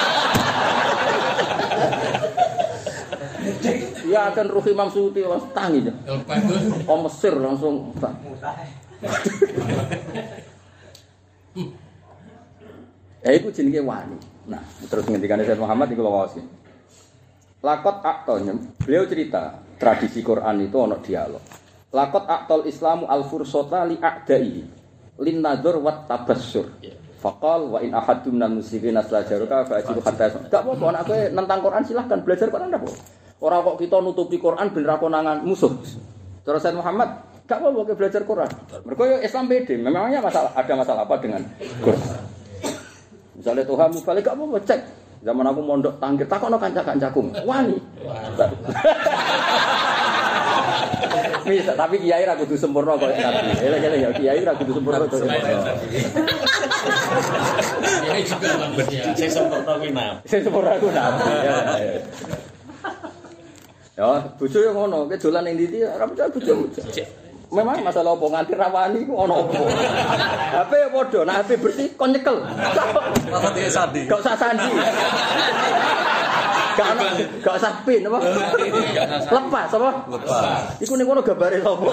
Ya akan ruh Imam Suyuti langsung tangi ya. Oh Mesir langsung. Iku jenenge wani. Nah, terus ngendikane Sayyid Muhammad iku lho wae. Lakot aktonya, beliau cerita tradisi Quran itu ana dialog. Lakot aktol Islamu al-fursata li a'dai. Lin nadzur wat tabassur. Faqal wa in ahadun minal muslimin aslajaruka fa'jiru hatta. Enggak apa-apa anak kowe nentang Quran silahkan belajar Quran ndak apa. Ora kok kita nutupi Quran ben ra konangan musuh. Terus Sayyid Muhammad, enggak apa-apa kowe belajar Quran. Mergo Islam pede, memangnya ada masalah apa dengan Quran? Misalnya Tuhan mubalik enggak apa-apa cek. Zaman aku mondok tangkir takokno kanca-kancaku. Wani. Bisa, tapi kiai ra kudu sempurna kok Nabi. Elek-elek ya kiai ra kudu sempurna kok. Kiai juga manusia. Sing sempurna kuwi Nabi. Sing sempurna ku Nabi. Ya, bojo yo ngono, ke dolan ning ndi ora percaya bojo. Memang masalah opo nganti rawani ku ono opo. HP ya padha, nek HP bersih kon nyekel. Masa dia sandi. Gak usah sandi. Gak usah pin apa? Lepas apa? Lepas. Iku ning kono gambare sapa?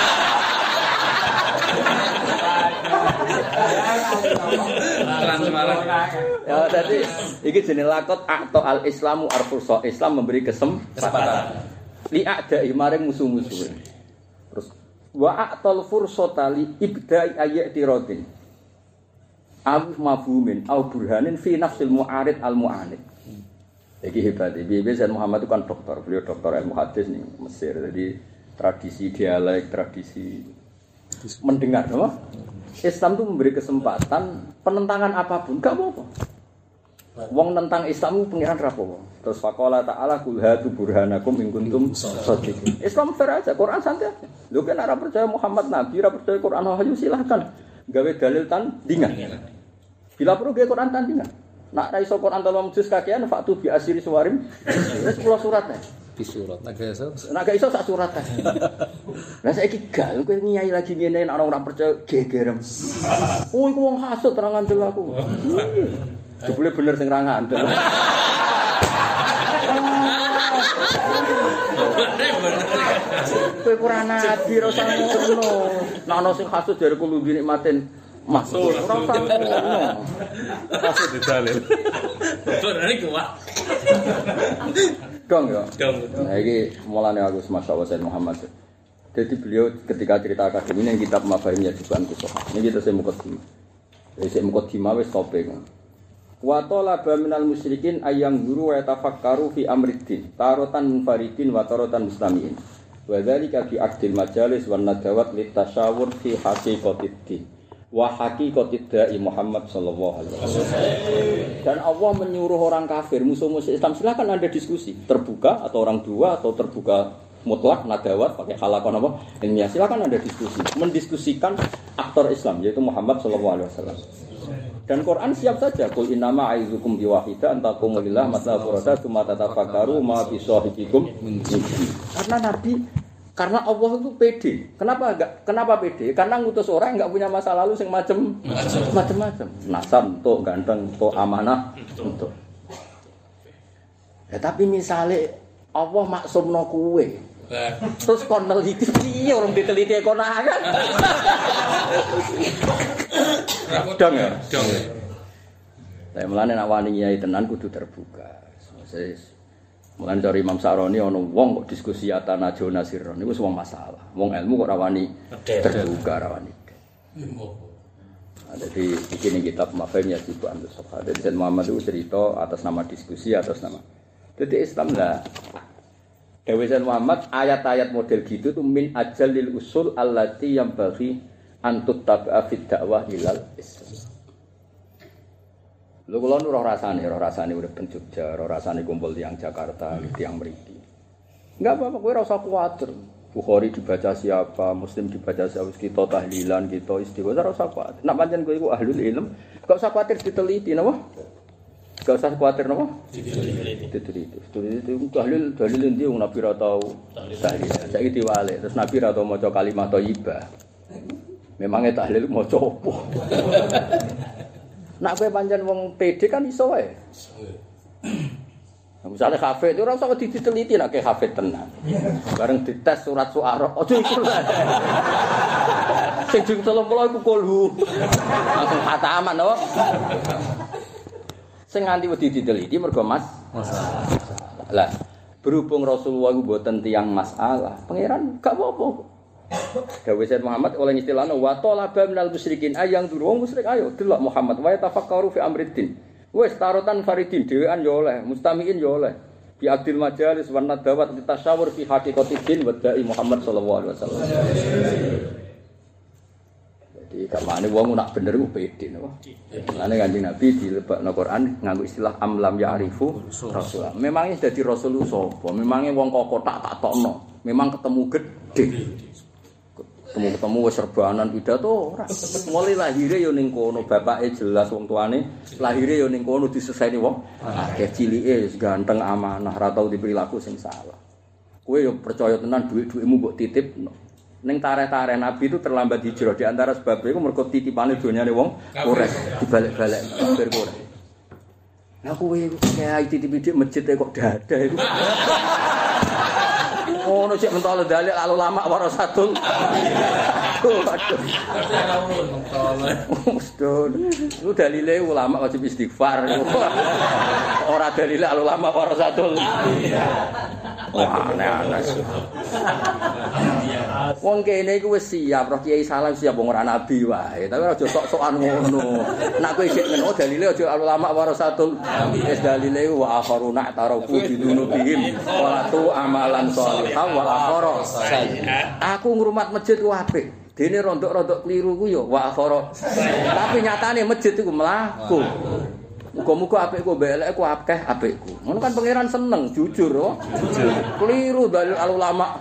Transparan. Ya tadi iki jenenge lakot atau al-Islamu arfursa. Islam memberi kesempatan. Li a'da'i maring musuh-musuh. Terus wa a'tal fursata li ibda'i ayatiradin. Au mafhumin au burhanin fi nafsil mu'arid al-mu'anid. Iki hebat. Bibi Sayyid Muhammad itu kan dokter. Beliau dokter ilmu hadis nih Mesir. Jadi tradisi dialek, tradisi mendengar, no? Islam itu memberi kesempatan penentangan apapun, enggak apa-apa. Wong nentang Islam pengiran rapopo. Terus faqala ta'ala kul hatu burhanakum in kuntum shadiqin. Islam fair aja, Quran santai aja. Lho kan ora percaya Muhammad nabi, ora percaya Quran wahyu silahkan. Gawe dalil tandingan. Bila perlu gawe Quran tandingan. Nak ra iso Quran 3 juz kakean faktu bi asiri suwarim. Wis 10 surat ae. Di surat. Nak gak iso sak surat ae. Lah saiki gal kowe nyai lagi ngene nek ora percaya gegerem. Oh iku wong hasud terang ngandel aku. Jebule bener sing ra ngandel. Kowe kurang nabi ora usah ngono. Nek ana sing hasud jare kulo nikmatin masuk ora usah ngono. Masuk di dalil. Berani kuat. Dong ya. Dong. Nah iki mulane aku masyaallah Sayyid Muhammad. Jadi beliau ketika cerita akademi yang kitab Mafahimnya Juban Kusoh. Ini kita saya mukadimah. Jadi saya mukadimah wis topeng. Wa talaba minal musyrikin ayang guru wa tafakkaru fi amriddin tarotan munfaridin wa tarotan muslimin. Wa dzalika fi aqdil majalis wan nadawat litasyawur fi haqiqatiddin. wa haqiqatid da'i Muhammad sallallahu alaihi wasallam. Dan Allah menyuruh orang kafir, musuh-musuh Islam, silakan Anda diskusi, terbuka atau orang dua atau terbuka mutlak nadawat pakai halaqah apa? Ilmiah, silakan Anda diskusi, mendiskusikan aktor Islam yaitu Muhammad sallallahu alaihi wasallam. Dan Quran siap saja, qul innama a'izukum biwahida antaqumu lillah masna furada tsumma tatafakkaru ma bi sahibikum. Karena Nabi karena Allah itu pede. Kenapa pede? Karena ngutus orang enggak punya masa lalu sing macam-macam. Nasab untuk ganteng, untuk amanah, untuk. Ya tapi misale Allah maksumno kowe. Terus kon neliti piye orang diteliti kon ae. Dong ya. Lah mulane nek wani nyai tenan kudu terbuka. Mulane dari Imam Sa'roni ana wong kok diskusi atana jona sirron niku wong masalah. Wong ilmu kok ora wani terbuka ora wani. Jadi bikin kitab Mafahim Yajibu Antus Sofa. Jadi Sayyid Muhammad itu cerita atas nama diskusi, atas nama. Jadi Islam lah. Dewi Sayyid Muhammad ayat-ayat model gitu tuh min ajalil usul allati yang bagi antut tabi'a fid dakwah ilal Islam. Lho kula nu roh rasane urip ben Jogja, roh rasane kumpul tiyang Jakarta, tiyang mriki. Enggak apa-apa, kowe ora usah kuwatir. Bukhari dibaca siapa, Muslim dibaca siapa, kita tahlilan, kita istighfar, ora usah kuwatir. Nek pancen kowe iku ahlul ilm, gak usah kuwatir diteliti napa? Gak usah kuwatir napa? Diteliti. Itu dalil endi wong Nabi ra tau tahlil. Saiki diwalik, terus Nabi ra tau maca kalimat thayyibah. Memangnya tahlil maca opo? Nak kowe pancen wong PD kan iso wae. Misalnya hafid itu ora usah diteliti nek hafid tenan. Bareng dites surat Syu'ara, aja iku lho. Sing jeng 30 iku kulhu. Langsung khataman to. Sing nganti wedi diteliti mergo masalah. Lah, berhubung Rasulullah iku mboten tiyang masalah, pangeran gak apa-apa. Dawuh Sayyid Muhammad oleh istilahna wa talaba minal musyrikin ayang duru wong musyrik ayo delok Muhammad wa tafakkaru fi amriddin. Wis tarotan faridin dhewean ya oleh, mustamiin ya oleh. Bi adil majalis wa nadawat tasyawur fi haqiqatiddin wa da'i Muhammad sallallahu alaihi wasallam. Jadi kamane wong nak bener ku pede napa. Mulane Kanjeng Nabi dilebakno Quran nganggo istilah amlam ya'rifu rasul. Memangnya dadi rasul sapa? Memangnya wong kok kotak tak tokno. Memang ketemu gede. Ketemu wis serbanan pidato ora. Mulai lahire ya ning kono, bapake jelas wong tuane, lahire ya ning kono diseseni wong. Akeh cilike wis ganteng amanah, ora tau diperilaku sing salah. Kowe ya percaya tenan dhuwit-dhuwitmu mbok titipno. Ning tareh-tareh Nabi itu terlambat hijrah di antara sebab iku mergo titipane donyane wong Quraisy dibalik-balik kafir Quraisy. Lah kowe kayak titip-titip masjid kok dadah iku. Ono cek mentol dalil al ulama warasatul. Aduh. Lu dalile ulama wajib istighfar. Ora dalile al ulama warasatul. Wah, aneh-aneh. Wong kene iku wis siap, roh kiai salah siap wong ora nabi wae, tapi aja sok-sokan ngono. Nek kowe isih ngono dalile aja al ulama warasatul. Wis dalile wa akharuna tarafu bidunubihim wa tu amalan shalihah wal akhara. Aku ngrumat masjid ku apik. Dene rondok-rondok kliru ku ya wa akhara. Tapi nyatane masjid iku mlaku. Muga-muga apikku mbek elek ku akeh apikku. Ngono kan pangeran seneng, jujur oh. Jujur. Kliru dalil al ulama.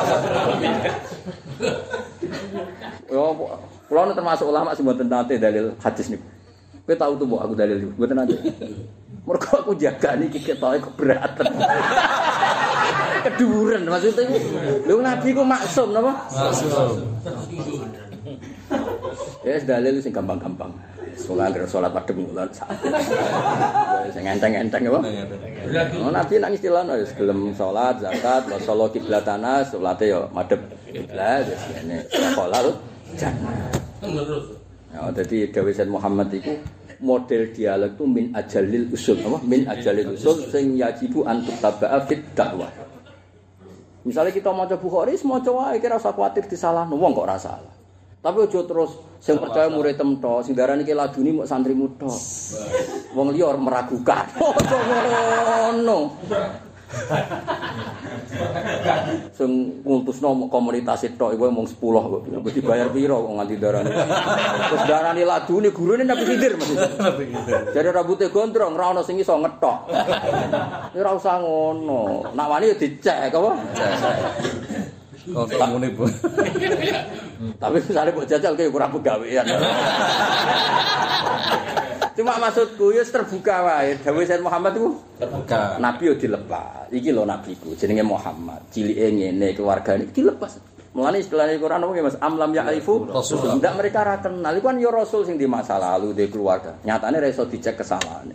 Yo, kula termasuk ulama sing mboten nate dalil hadis niku. Kowe tau tuh aku dalil niku, mboten nate. Mergo aku jaga niki ketoke keberatan. Keduren maksudnya iku. Lho nabi ku maksum napa? Maksum. Ya dalil sing gampang-gampang. Salat padhem kula sak. Sing enteng-enteng apa? Oh nabi nang istilahno ya gelem salat, zakat, wa shollo qiblatana, salate ya madhep kiblat wis ngene. Salat jannah. Terus. Ya dadi dawuh Sayyid Muhammad iku model dialog itu min ajalil usul apa? Min ajalil usul sing yajibu antut taba'a fit dakwah. Misalnya kita maca Bukhari, maca wae kira usah kuwatir disalahno wong kok ora salah. Tapi aja terus sing percaya murid temto, sing darani ki laduni mok santrimu tok. Wong liya meragukan. Ojo ngono. Sing ngultusno komunitas tok iku mung 10 kok. Wis dibayar piro kok nganti darane. Terus darane ladune gurune Nabi Khidir maksudnya. Jadi rambutnya gondrong, ora ono sing iso ngetok. Ya ora usah ngono. Nak wani ya dicek apa? Oh, ngene, Bu. Tapi misalnya mbok jajal kayak kurang pegawean. Cuma maksudku ya terbuka wae. Dawuh Sayyid Muhammad itu Terbuka. Nabi yo dilepas. Iki lho nabiku jenenge Muhammad. Cilike ngene keluargane dilepas. Mulane istilahane Quran apa Mas? Amlam ya'rifu Rasul. Ndak mereka ra kenal. Iku kan ya Rasul sing di masa lalu di keluarga. Nyatane ra iso dicek kesalahannya.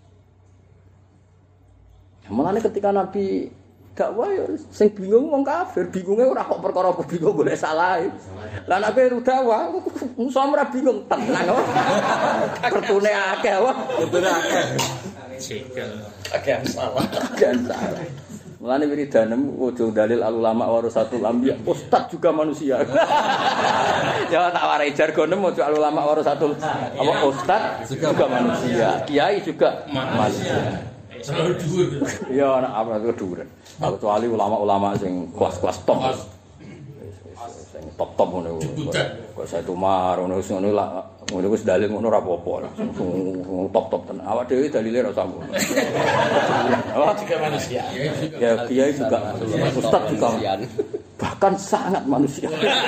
Mulane ketika Nabi dakwah ya sing bingung wong kafir, bingunge ora kok perkara bingung golek salah. Lah nek kowe dakwah, musuh ora bingung tenang kok. Kertune akeh wae. Kertune akeh. Cekel. Akeh salah. Akeh salah. Mulane wiridanem ojo dalil ulama warasatul anbiya. Ustaz juga manusia. Ya tak warai jargonem ojo ulama warasatul apa ustaz juga manusia. Kiai juga manusia. Selalu dhuwur. Ya anak apa keduren. Kecuali ulama-ulama sing kelas-kelas top. Sing top-top ngono. Kok saya tumar ngono lah. Ngono wis dalil ngono ora apa-apa. Top-top tenan. Awak dhewe dalile ora usah ngono. Awak Juga manusia. ya kiai juga ustaz juga. Bahkan sangat manusia.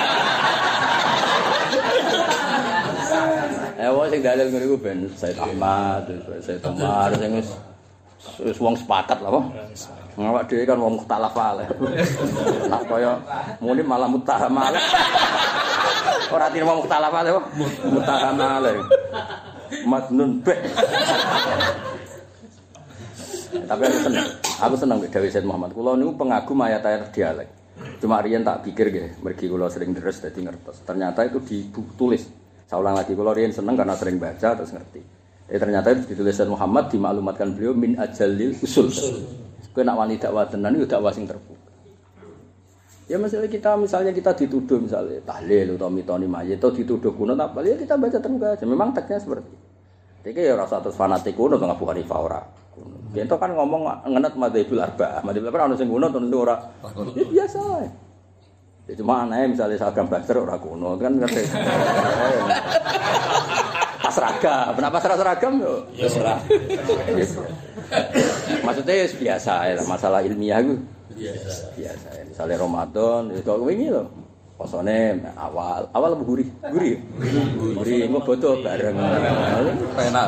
Wong sing dalil ngono iku ben Said Ahmad, Said Umar sing wis wong sepakat lah apa. Awak dhewe kan wong mukhtalaf ae. Nak kaya muni malah muttaham ae. Ora tine wong mukhtalaf ae apa? Muttaham ae. Madnun beh. Tapi aku seneng dawuh Said Muhammad. Kula niku pengagum ayat-ayat dialek. Cuma riyen tak pikir nggih, mergi kula sering deres dadi ngertos. Ternyata itu ditulis. Saya ulang lagi, kula riyen seneng karena sering baca terus ngerti. Ternyata itu ditulis Muhammad dimaklumatkan beliau min ajalil usul. Kowe nak wani dakwah tenan yo dakwah sing terbuka. Ya misalnya kita dituduh misalnya tahlil atau mitoni mayit atau dituduh kuno apa ya kita baca terbuka aja. Memang teksnya seperti itu. Iki ya rasa terus fanatik kuno to Abu Hanifah ora. Ento kan ngomong ngenet madzhabul arba'ah. Madzhabul arba'ah ono sing kuno tentu ora. Ya biasa ae. Ya cuma aneh misalnya seragam Badr ora kuno kan ngerti. Pas seragam, kenapa seragam yo? Ya seragam. Maksudnya biasa ya masalah ilmiah itu. Biasa ya. Misalnya Ramadan itu wingi lho. Posone awal gurih. Gurih engko bodo bareng. Penak.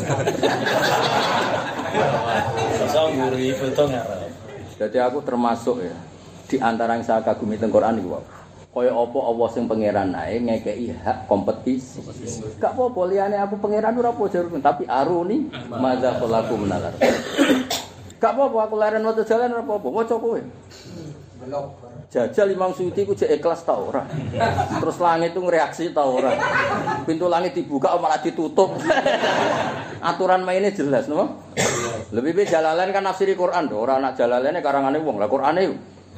Sosok gurih foto ngarep. Jadi aku termasuk ya di antara yang saya kagumi teng Quran iku. Kaya apa Allah sing pangeran ae ngekeki hak kompetisi. Gak apa-apa liyane aku pangeran ora apa jarune tapi aruni madza khalaku menalar. Gak apa-apa aku leren wae jalan ora apa-apa waca kowe. Jajal Imam Suyuti ku jek ikhlas ta ora. Terus langit itu ngreaksi ta ora. Pintu langit dibuka malah ditutup. Aturan mainnya jelas napa? Lebih baik Jalalain kan nafsiri Quran to, ora nak Jalalaine karangane wong. Lah Qur'ane yo.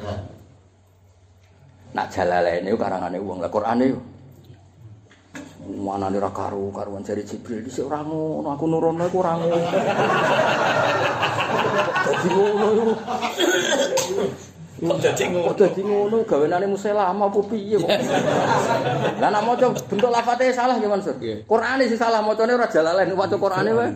Nak Jalalain itu karangane wong, lah Qur'ane yo. Manane ra karuan jari Jibril iki ora ngono, aku nurono iku ora ngono. Dadi ngono yo. Dadi ngono gawenane muselama apa piye kok. Lah nek maca bentuk lafate salah ya Mansur. Qur'ane sing salah macane ora Jalalain, waca Qur'ane wae.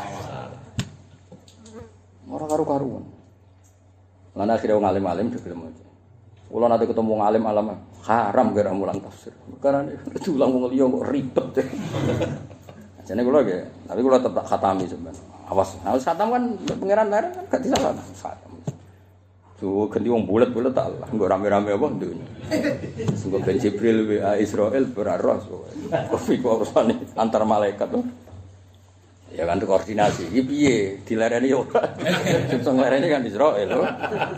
Ora karuan. Lan akhire wong alim-alim dhewe maca. Kula nate ketemu ngalim alam haram gara mulang tafsir. Karena diulang wong liya kok ribet. Jane kula nggih, tapi kula tetep khatami sampean. Awas khatam kan pangeran larang kan gak disalah. Khatam. Tuh ganti wong bulet-bulet tak lah, nggo rame-rame apa dunya. Sungguh ben Jibril wa Israil beraros. Kok urusane antar malaikat tuh. Ya kan koordinasi. Iki piye? Dilereni yo ora. Sing lereni kan Israil lho.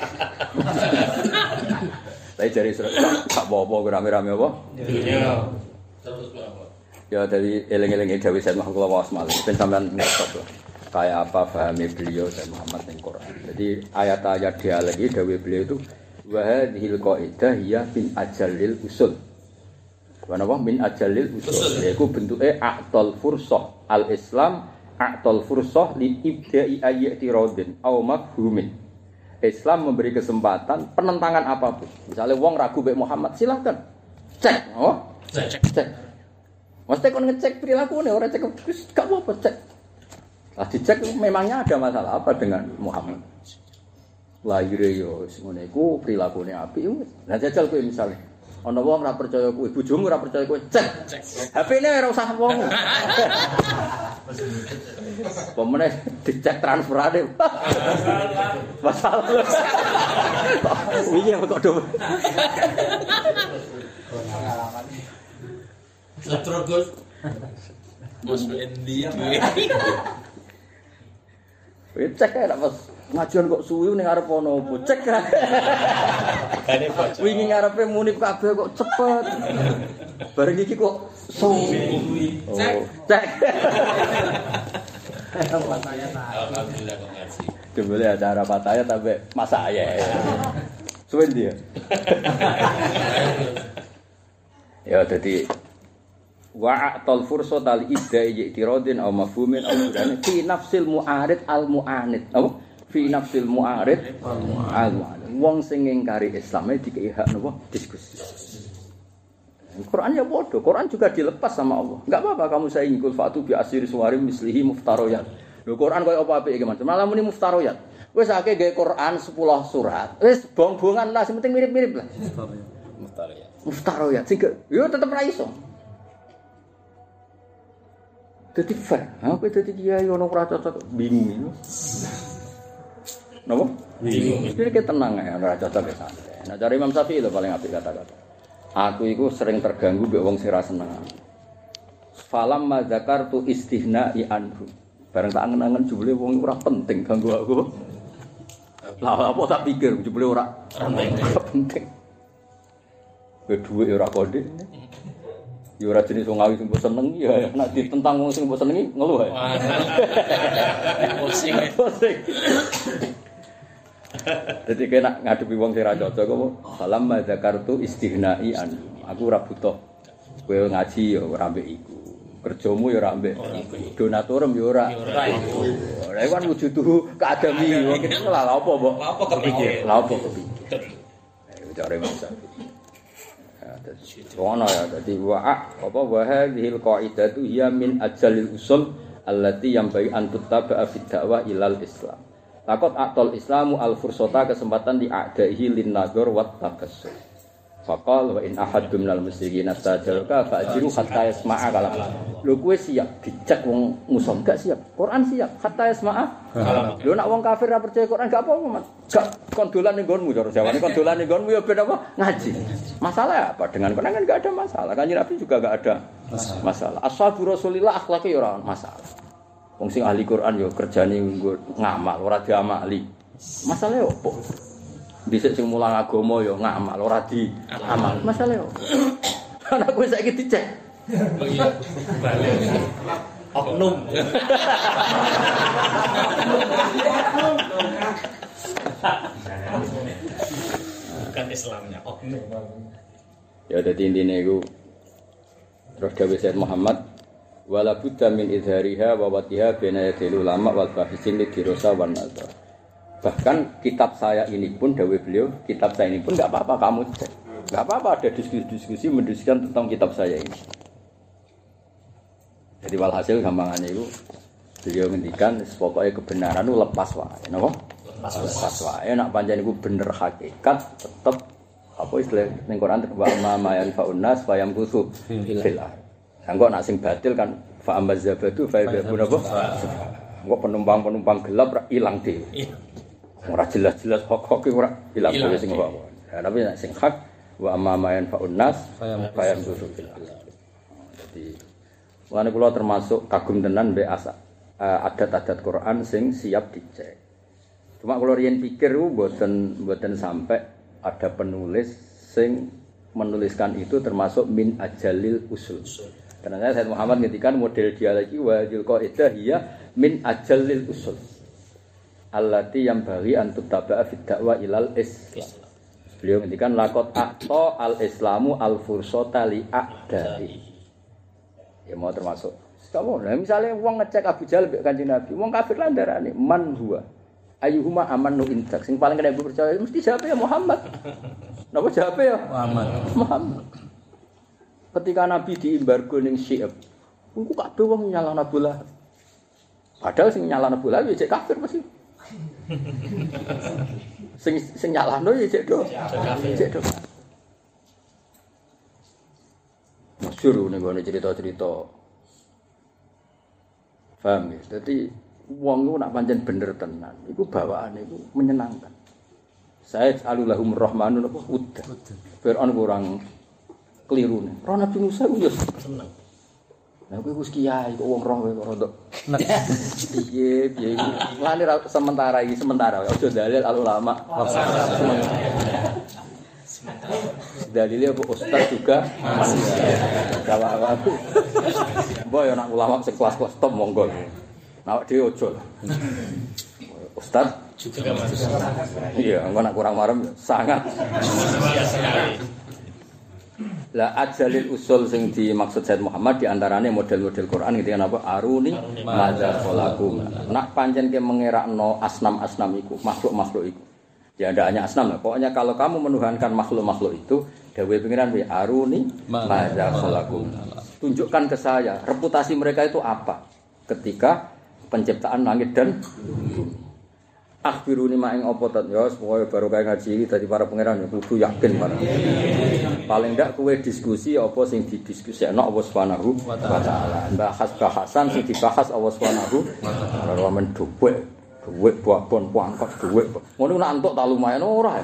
Lah jare Israil gak apa-apa rame-rame apa? Dunia. Terus berapa? Ya dari eling-eling Dewi Said Muhammad Wasmal. Ben sampean ngertos kayak apa pahami beliau dan Muhammad yang Quran. Jadi ayat-ayat dia lagi Dewi beliau itu wa hadhil qaidah ya bin ajalil usul. Kenapa min ajalil usul? Yaitu bentuknya a'tal fursah al-Islam a'tal fursah li ibda'i ayati radin aw mafhumin. Islam memberi kesempatan penentangan apapun. Misalnya wong ragu mbek Muhammad, silakan. Cek, oh? Cek. Mesti kon ngecek perilakunya, orang cek gak apa-apa cek. Lah dicek memangnya ada masalah apa dengan Muhammad? Lahire yo ngono iku prilakune apik wis. Lah jajal kowe misale ana wong ora percaya kowe, bojomu ora percaya kowe, cek. HP-ne ora usah wong. Pemene dicek transferane. Masalah. Iya kok do. Terus Mas Endi duwe. Cek ae nek pas ngajian kok suwi ning arep ana opo. Cek ae. Kane bocor. Wingi ngarepe munib kabeh kok cepet. Bareng iki kok suwi. Cek. Alhamdulillah kok ngaji. Dibeli acara pataya sampai masa ya. Suwen dia. Ya jadi wa'atal fursata li idda'i i'tiradin aw mafhumin aw mudane fi nafsil mu'arid al mu'anid. Apa? Fi nafsil mu'arid al mu'anid. Wong sing ngingkari Islam dikei hak napa diskusi. Quran ya bodoh. Quran juga dilepas sama Allah. Enggak apa-apa kamu saya ngikut fatu bi asir suwarim mislihi muftaroyat. Lho Quran koyo apa apik iki Mas. Malah muni muftaroyat. Wis akeh gawe Quran 10 surat. Wis bong-bongan lah, sing penting mirip-mirip lah. Muftaroyat. Muftaroyat sing yo tetep ra iso. Dadi fair. Apa dadi kiai ono ora cocok bingung itu. Napa? Bingung. Iki tenang ya, ora cocok ya santai. Nah, cari Imam Syafi'i lho paling apik kata-kata. Aku itu sering terganggu mbek wong sing ra seneng. Falam ma zakartu istihna'i anhu. Bareng tak angen-angen jebule wong ora penting ganggu aku. Lah apa tak pikir jebule ora penting. Dhuwit ora kode. Ya ora jenis wong awi sing mbok seneng ya nek ditentang wong sing mbok senengi ngeluh ae. Pusing. Jadi kena ngadepi wong sing ra cocok apa salam zakartu istihna'i an. Aku ora butuh kowe ngaji ya ora mbek iku. Kerjamu ya ora mbek donaturem ya ora iku. Ora iku kan wujuduh keadami wong iki lha apa mbok? Lah apa kepikir? Lha apa kepikir? Cari masa. Ono ya dadi wa apa wa hadhil qaidatu hiya min ajalil usul allati yanbaghi an tuttaba fi da'wah ilal Islam. Takut aktol Islamu al-fursota kesempatan di'adaihi lin-nadhur wat tabassum. Faqal wa in ahadum minal musyrikin astajaraka fa'jiru hatta yasma'a kalam. Lho kowe siap dicek wong muson gak siap? Quran siap hatta yasma'a kalam. Lho nek wong kafir ora percaya Quran gak apa-apa, Mas. Gak kondolan ning nggonmu cara Jawane kondolan ning nggonmu ya ben apa? Ngaji. Masalah apa dengan Quran kan gak ada masalah. Kanjeng Nabi juga gak ada masalah. Ashabu Rasulillah akhlake ya ora masalah. Wong sing ahli Quran yo kerjane ngamal ora diamali. Masalahe opo? Dhisik sing mulang agama yo ngamal ora diamal. Masalahe opo? Anak kowe saiki dicek. Balik. Oknum. Bukan Islamnya, oknum. Ya dadi intine iku terus dawuh Sayyid Muhammad wala budda min izhariha wa watiha baina yadil ulama wal bahisin li dirasa wan nazar. Bahkan kitab saya ini pun dawuh beliau, kitab saya ini pun enggak apa-apa kamu cek. Enggak apa-apa ada diskusi mendiskusikan tentang kitab saya ini. Jadi walhasil gampangannya itu beliau ngendikan pokoknya kebenaran itu lepas wae, napa? Lepas wae nek pancen iku bener hakikat tetep apa istilah ning Quran wa ma yanfa'un nas fa yamkusu fil Engko nak sing batil kan fa amazabatu fa yabun apa? Engko penumpang-penumpang gelap ra ilang dhewe. Ora jelas-jelas hak-hak ora ilang dhewe sing apa. Ya tapi nek sing hak wa amamayan faun nas fa yabun fil. Jadi mulane kula termasuk kagum tenan mbek adat-adat Quran sing siap dicek. Cuma kula riyen pikir mboten sampai ada penulis sing menuliskan itu termasuk min ajalil usul. Karena Sayyid Muhammad ngetikan model dialeki wa hadil qaidah hiya min ajalil usul. Allati yang bagi antut taba'a fid da'wa ilal Islam. Beliau ngetikan laqad aqta al-islamu al-fursata li a'dai. Ya mau termasuk. Kamu nah misalnya wong ngecek Abu Jahal mbek Kanjeng Nabi, wong kafir lah ndarani man huwa. Ayyuhuma amanu indak. Sing paling kena percaya mesti jawab ya Muhammad. Napa jawab ya? Muhammad. Ketika Nabi diembargo ning Syi'ab, iku kabeh wong nyalahna Abu Lahab. Padahal sing nyalahna Abu Lahab ya cek kafir mesti. sing nyalahno ya cek do. Cek do. Masyhur ning gone cerita-cerita. Paham ya? Dadi wong iku nak pancen bener tenan, iku bawaane iku menyenangkan. Saya alulahum rahmanun apa udah. Fir'aun kurang kelirune. Roh Nabi Musa ku yo seneng. Lah kowe wis kiai kok wong roh kok rodok. Piye iki. Lane sementara aja dalil al ulama. Dalilnya apa ustaz juga manusia. Gawa-gawa. Mbok yo nak ulama sekelas-kelas top monggo. Awak dhewe ojo lah. Ustaz juga manusia. Iya, engko nak kurang marem sangat. Lah ajalil usul sing dimaksud Said Muhammad di antarane model-model Quran gitu kan apa aruni madza khalakum. Nak pancen ke mengerakno asnam-asnam iku, makhluk-makhluk iku. Ya ndak hanya asnam lah. Pokoknya kalau kamu menuhankan makhluk-makhluk itu, dawuhe pengiran bi aruni madza khalakum. Tunjukkan ke saya reputasi mereka itu apa ketika penciptaan langit dan bumi. Akhbiruni ma'ing apa tat ya pokoke baru kae ngaji iki dadi para pangeran ya kudu yakin barang. Paling ndak kowe diskusi apa sing didiskusikno Allah Subhanahu wa taala. Bahas-bahasan sing dibahas Allah Subhanahu wa taala. Ora men dhuwit buat-buat pangkat dhuwit. Ngono nak entuk ta lumayan ora.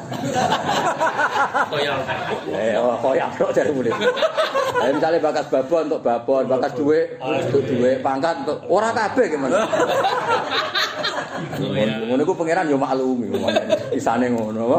Koyak tok jare mulih. Misale bakas babon untuk babon, bakas dhuwit untuk dhuwit, pangkat untuk ora kabeh gimana. Ngono iku pangeran yo maklumi isane ngono apa.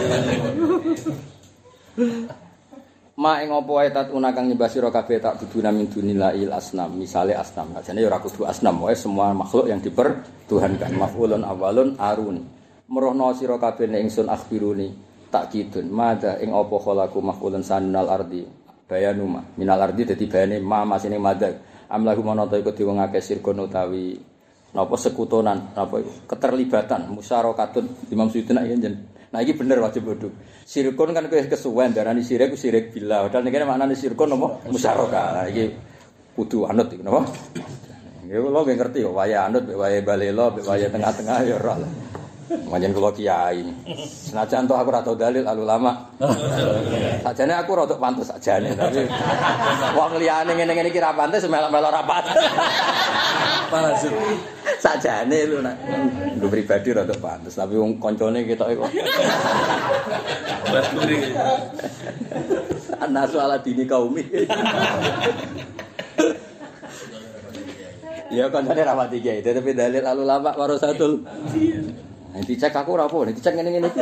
Ma ing apa wae tat unakang nyembah sira kabeh tak duduna min dunilil asnam, misale asnam. Jane ya ora kudu asnam, wae semua makhluk yang dipertuhankan. Maf'ulun awalun aruni. Merohno sira kabeh nek ingsun akhbiruni tak kidun. Mada ing apa khalaku maf'ulun sanal ardi. Bayanuma minal ardi dadi bayane ma masine mada. Amlahu manata iku diwengake sirkon utawi napa sekutonan apa keterlibatan musyarakatun Imam Suyuti nek yen. Nah iki bener wajib bodho. Sirkun kan kowe kesuwen darani sirik ku sirik billah. Padahal niki maknane sirkun apa musyarakah. Nah iki kudu anut iki napa? Nggih kula nggih ngerti kok waya anut, waya balela, waya tengah-tengah ya ora lah. Manjen kula kiai. Senajan to aku ora tau dalil al ulama. Sajane aku rada pantes sajane tapi wong liyane ngene-ngene iki ra pantes melok-melok ra pantes. Pantes. Sajane lho nak nggo pribadi rada pantes tapi wong kancane ketoke kok. Baturi. Ana soal dini kaumi. Ya kancane ra mati kiai, tapi dalil al ulama warasatul. Nanti cek aku ora apa, nanti cek ngene-ngene iki.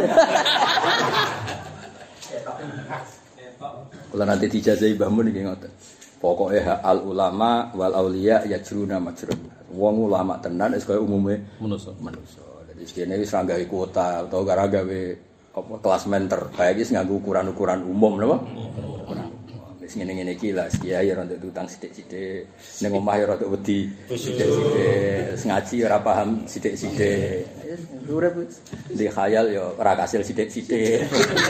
Kula nanti dijazahi Mbah Mun iki ngoten. Pokoke al ulama wal auliya yajruna majrun. Wong ulama tenan wis kaya umume manusa. Dadi sekene wis ra gawe kuota utawa gara gawe apa klasmen terbaik wis nganggo ukuran-ukuran umum napa? Wis ngene-ngene iki lah kiai ora ndek utang sithik-sithik. Ning omah ya rada wedi sithik-sithik. Ngaji ora paham sithik-sithik. Urip di khayal ya ora kasil sithik-sithik.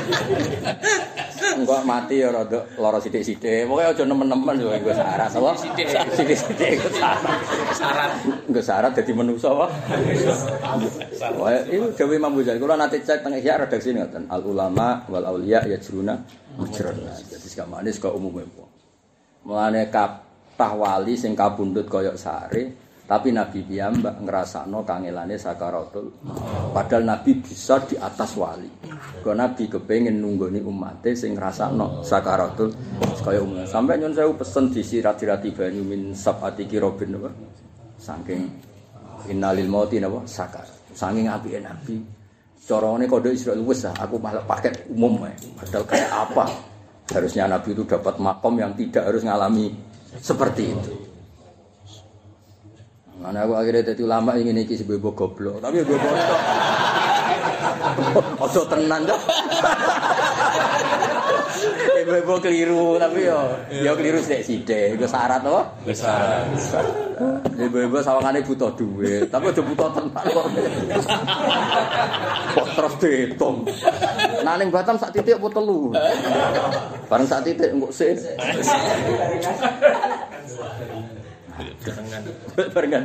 Engko mati ya rada lara sithik-sithik. Pokoke aja nemen-nemen yo nggo syarat apa? Sithik-sithik syarat. Nggo syarat dadi manusa apa? Wah, itu Dewi Imam Ghazali. Kula nate cek teng Ihya redaksi ngoten. Al ulama wal auliya yajruna mujrun. Dadi sakamane kok umume apa. Mulane kathah wali sing kabundut kaya sare, tapi Nabi piyambak ngrasakno kangelane sakaratul. Padahal Nabi bisa di atas wali. Kok Nabi kepengin nunggoni umate sing ngrasakno sakaratul kaya umum. Sampai nyun sewu pesen disirat-sirati banyu min sabati kirobin apa? Saking innalil mauti napa sakar. Saking apike Nabi. Carane kode Israil wis aku malah paket umum wae. Padahal kayak apa? Harusnya Nabi itu dapat makom yang tidak harus ngalami seperti itu. Mana aku akhirnya jadi ulama ingin iki sebebo goblok, tapi gue bodoh. Ojo tenan dah. Ibu keliru tapi yo keliru sithik. Iku syarat apa? Besar. Ibu sawangane butuh duit, tapi aja butuh tenan kok. Kok terus diitung. Nah ning Batam sak titik apa telu. Bareng sak titik engko sik. Barengan.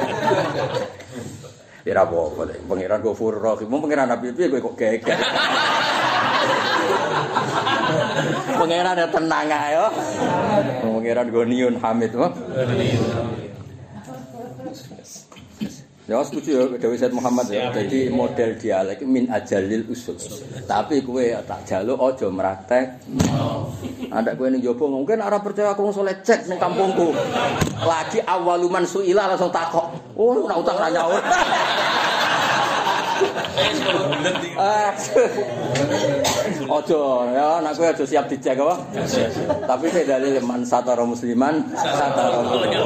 Ya apa-apa lek pangeran Ghafurur Rahim, pangeran Nabi piye kowe kok geger. Pangeran ya tenang ae yo. Pangeran Goniun Hamid wae. Ya setuju ya Dewi Said Muhammad ya. Jadi model dialek min ajalil usul. Tapi kowe tak jaluk aja mraktek. Ada kowe ning jowo mungkin ora percaya aku wong saleh cek ning kampungku. Lagi awaluman suila langsung takok. Oh, ora utang ra nyaur. Ojo ya, nek kowe aja siap dicek apa? Tapi saya dalil man satara musliman satara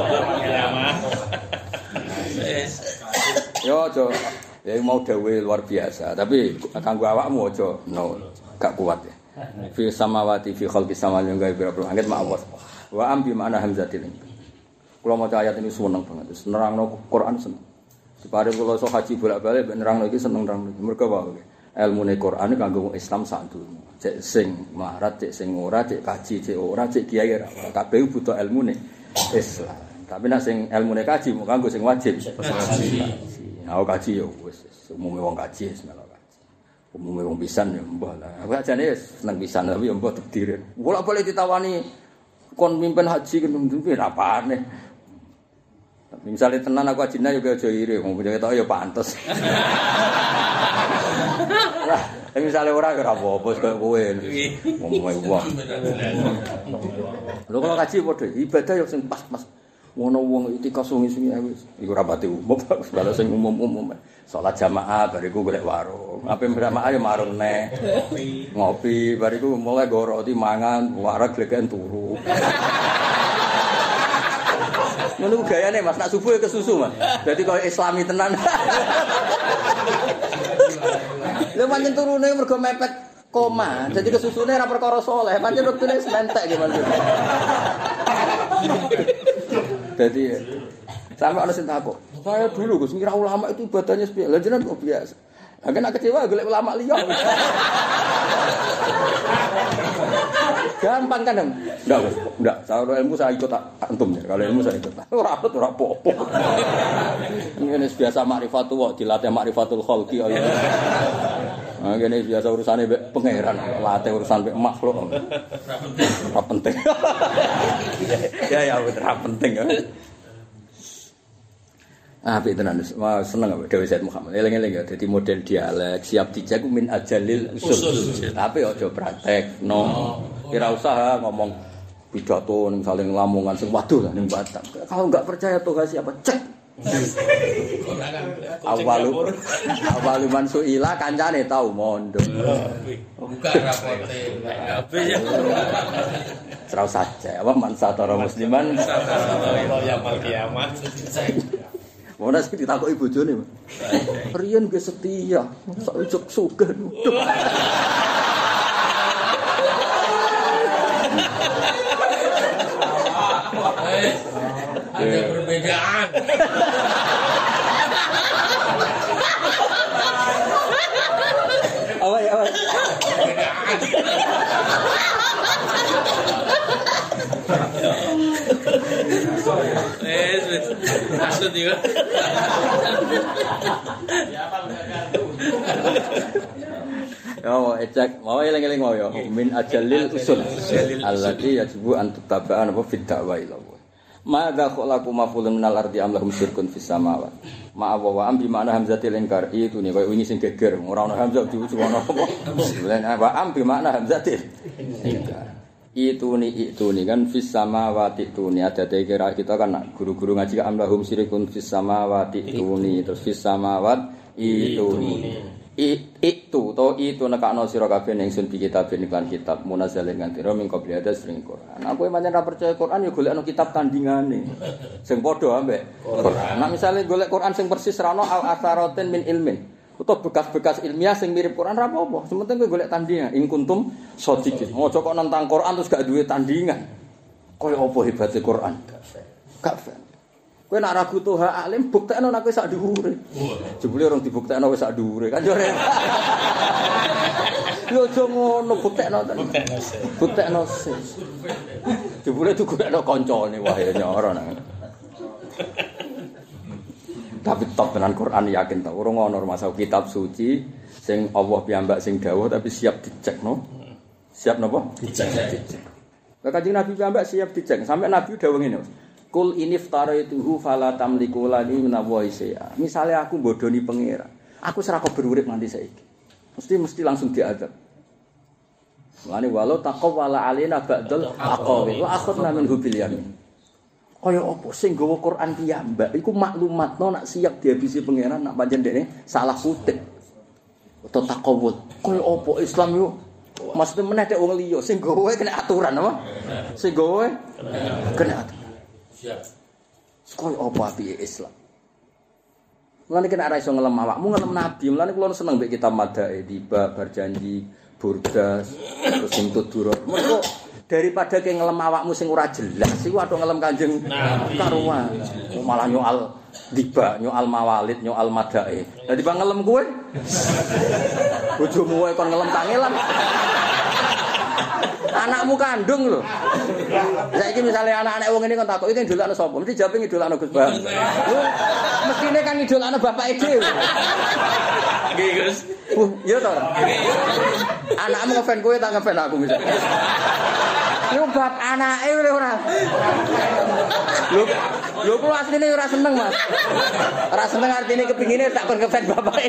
yo aja ya mau dawuh luar biasa, tapi kanggo awakmu aja gak kuat ya. Fi samawati fi khalqis samawati wa bil langit ma'awas. Wa am bi ma'na hamzatin. Kula maca ayat ini seneng banget. Terus nerangno Quran seneng. Dipare kula iso haji bolak-balik ben nerangno iki seneng nerangno. Mergo wae ilmune Quran kanggo Islam sak durung. Cek sing melarat, cek sing ora, cek kaji, cek ora, cek kiai ora. Kabeh butuh ilmune Islam. Tapi nek sing ilmune kaji mung kanggo sing wajib. Aku kaji ya wis umume wong kaji wis melok kaji. Umume wong pisan ya mbah lah. Aku ajane wis seneng pisan tapi ya mbah didirin. Bolak-balik ditawani kon mimpin haji kendung-kendung rapane. Tapi misalnya tenan aku ajine juga aja iri, wong punya ketok ya pantes. Lah, misalnya ora ya ora apa-apa kaya kowe. Umume wong. Lho kalau kaji padha ibadah ya sing pas-pas. Ngono wong itikaf sungi-sungi wis iku rapati umum kalau sing umum-umum salat jamaah bariku golek warung ape jamaah ya marung neh ngopi bariku mulai go roti mangan wareg gleken turu ngono gayane Mas nak subuh ke susu Mas dadi koyo islami tenan lho pancen turune mergo mepet koma dadi kesusune ora perkara saleh pancen wektune sementek gimana jadi sampai ana sing takok. Saya dulu Gus ngira ulama itu ibadahnya sepiye. Lah jenengan kok biasa. Lah kena kecewa golek ulama liya. Gampang kan? Enggak, Gus. Enggak. Kalau ilmu saya ikut antum ya. Kalau ilmu saya ikut. Ora apet ora apa-apa. Ini biasa makrifatullah, dilatih makrifatul khalqi. Nah, gini biasa urusannya pangeran, latih urusan makhluk. Ora penting. Ya ora penting ya. Apik tenan seneng apa Dewi Said Muhammad. Eling-eling ya dadi model dialek siap dicek min ajalil usul. Tapi aja praktek Ora usah ngomong pidato ning saling lamongan sing waduh lah ning Batam. Kalau enggak percaya Tuhan siapa cek. Awalu man suila kancane tau mondo. Buka rapote. Serau saja apa man satara musliman Ya mal kiamat. Mau nasi ditakoki bojone. Riyen ge setia, sak ujug sugih. Ada perbedaan. Awal. Maksud juga. Ya cek, mau eling-eling mau ya. Min ajalil usul. Allati yajibu an tutaba'an apa fid da'wa ila Allah. Madza khalaqu mafulun minal ardi am lahum syirkun fis samawat. Ma'awa wa am bi ma'na hamzatil inkar itu nih koyo wingi sing geger ora ono hamzah diucap ono apa. Sebenarnya wa am bi ma'na hamzatil inkar. Itu nih kan fis samawati itu nih ada kira kita kan guru-guru ngaji am lahum syirkun fis samawati itu nih terus fis samawat itu nih. Itu nekakno sira kabeh ning sun bi kitab lan kitab munazzalin kan tira ming qabli ada sering Quran. Aku pancen ra percaya Quran ya golekno kitab tandingane. Sing padha ambek Quran. Nek misale golek Quran sing persis ra ono al asaratin min ilmin. Utawa bekas-bekas ilmiah sing mirip Quran ra apa-apa. Sementing kowe golek tandingan. In kuntum shodiqin. Ojo kok nentang Quran terus gak duwe tandingan. Kaya apa hebate Quran? Gak fair. Kowe nak ragu tuh hak alim buktekno nek kowe sak dhuwure. Jebule orang dibuktekno wis sak dhuwure kan yo. Yo aja ngono buktekno to. Buktekno sih. Jebule tuku nek kancane wah ya nyoro nang. Tapi top tenan Quran yakin ta. Urung ana masalah kitab suci sing Allah piyambak sing dawuh tapi siap dicek no. Siap napa? Dicek. Lah Kanjeng Nabi piyambak siap dicek. Sampai Nabi dawuh ngene. Kul iniftaratuhu fala tamliku lani minallahi syai'a. Misale aku bodoni pangeran. Aku ora kok berurip nganti saiki. Mesti langsung diadab. Mulane walau taqawwala alaina ba'dal aqawi wa akhadna minhu bil yamin. Kaya apa sing nggawa Quran piyambak iku maklumatno nak siap dihabisi pangeran nak pancen dekne salah kutip. Atau takawul. Kaya apa Islam yo mesti meneh tek wong liya sing nggawa kena aturan apa? Sing nggawa kena aturan. Siap. Kaya apa piye Islam? Mulane kena ora iso ngelem awakmu ngelem nabi. Mulane kula seneng mbek kitab Madae tiba berjanji Burdas terus sing Tudurah. Mergo daripada ke ngelem awakmu sing ora jelas iku atau ngelem Kanjeng karuan malah nyoal tiba nyoal mawalid nyoal Madae. Dadi bang ngelem kowe bojomu wae kon ngelem tangelan anakmu kandung lho. Saiki misale anak-anak wong ngene kon takok iki ndolakno sapa? Mesti jawab ngidolakno Gus Bang. Mestine kan ngidolakno bapake dhewe. Nggih, Gus. Iya to. Anakmu ngefan kowe tak ngefan aku misale. Lu bab anake ora. Lho kula asline ora seneng, Mas. Ora seneng artine kepingine tak kon ngefan bapake.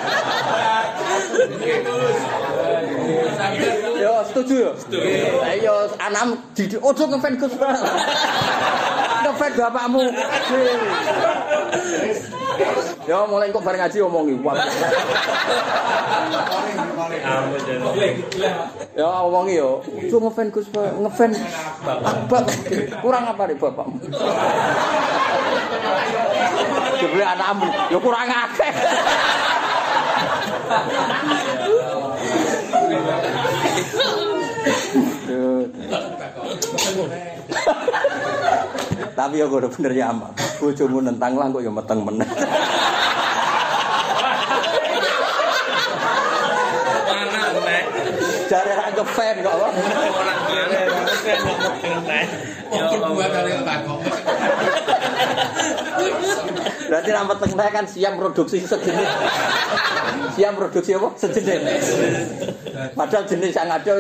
Yo setuju yo. Ayo anam didik ojo ngefan Gus. Ngefan bapakmu. Yo mulai kok bareng ngaji omongi. Ya omongi yo. Ojo ngefan Gus, ngefan bapak. Kurang apa nih bapakmu? Jebule anakmu yo kurang akeh. Tapi ya kudu bener ya amak. Bojomu nentang lah kok ya meteng meneh. Mana meneh? Jare ra ngefan kok. Ora ngefan kok meteng meneh. Mungkin buat kali takok. Berarti ra meteng meneh kan siap produksi sejenis. Siap produksi apa? Sejenis. Padahal jenis yang ada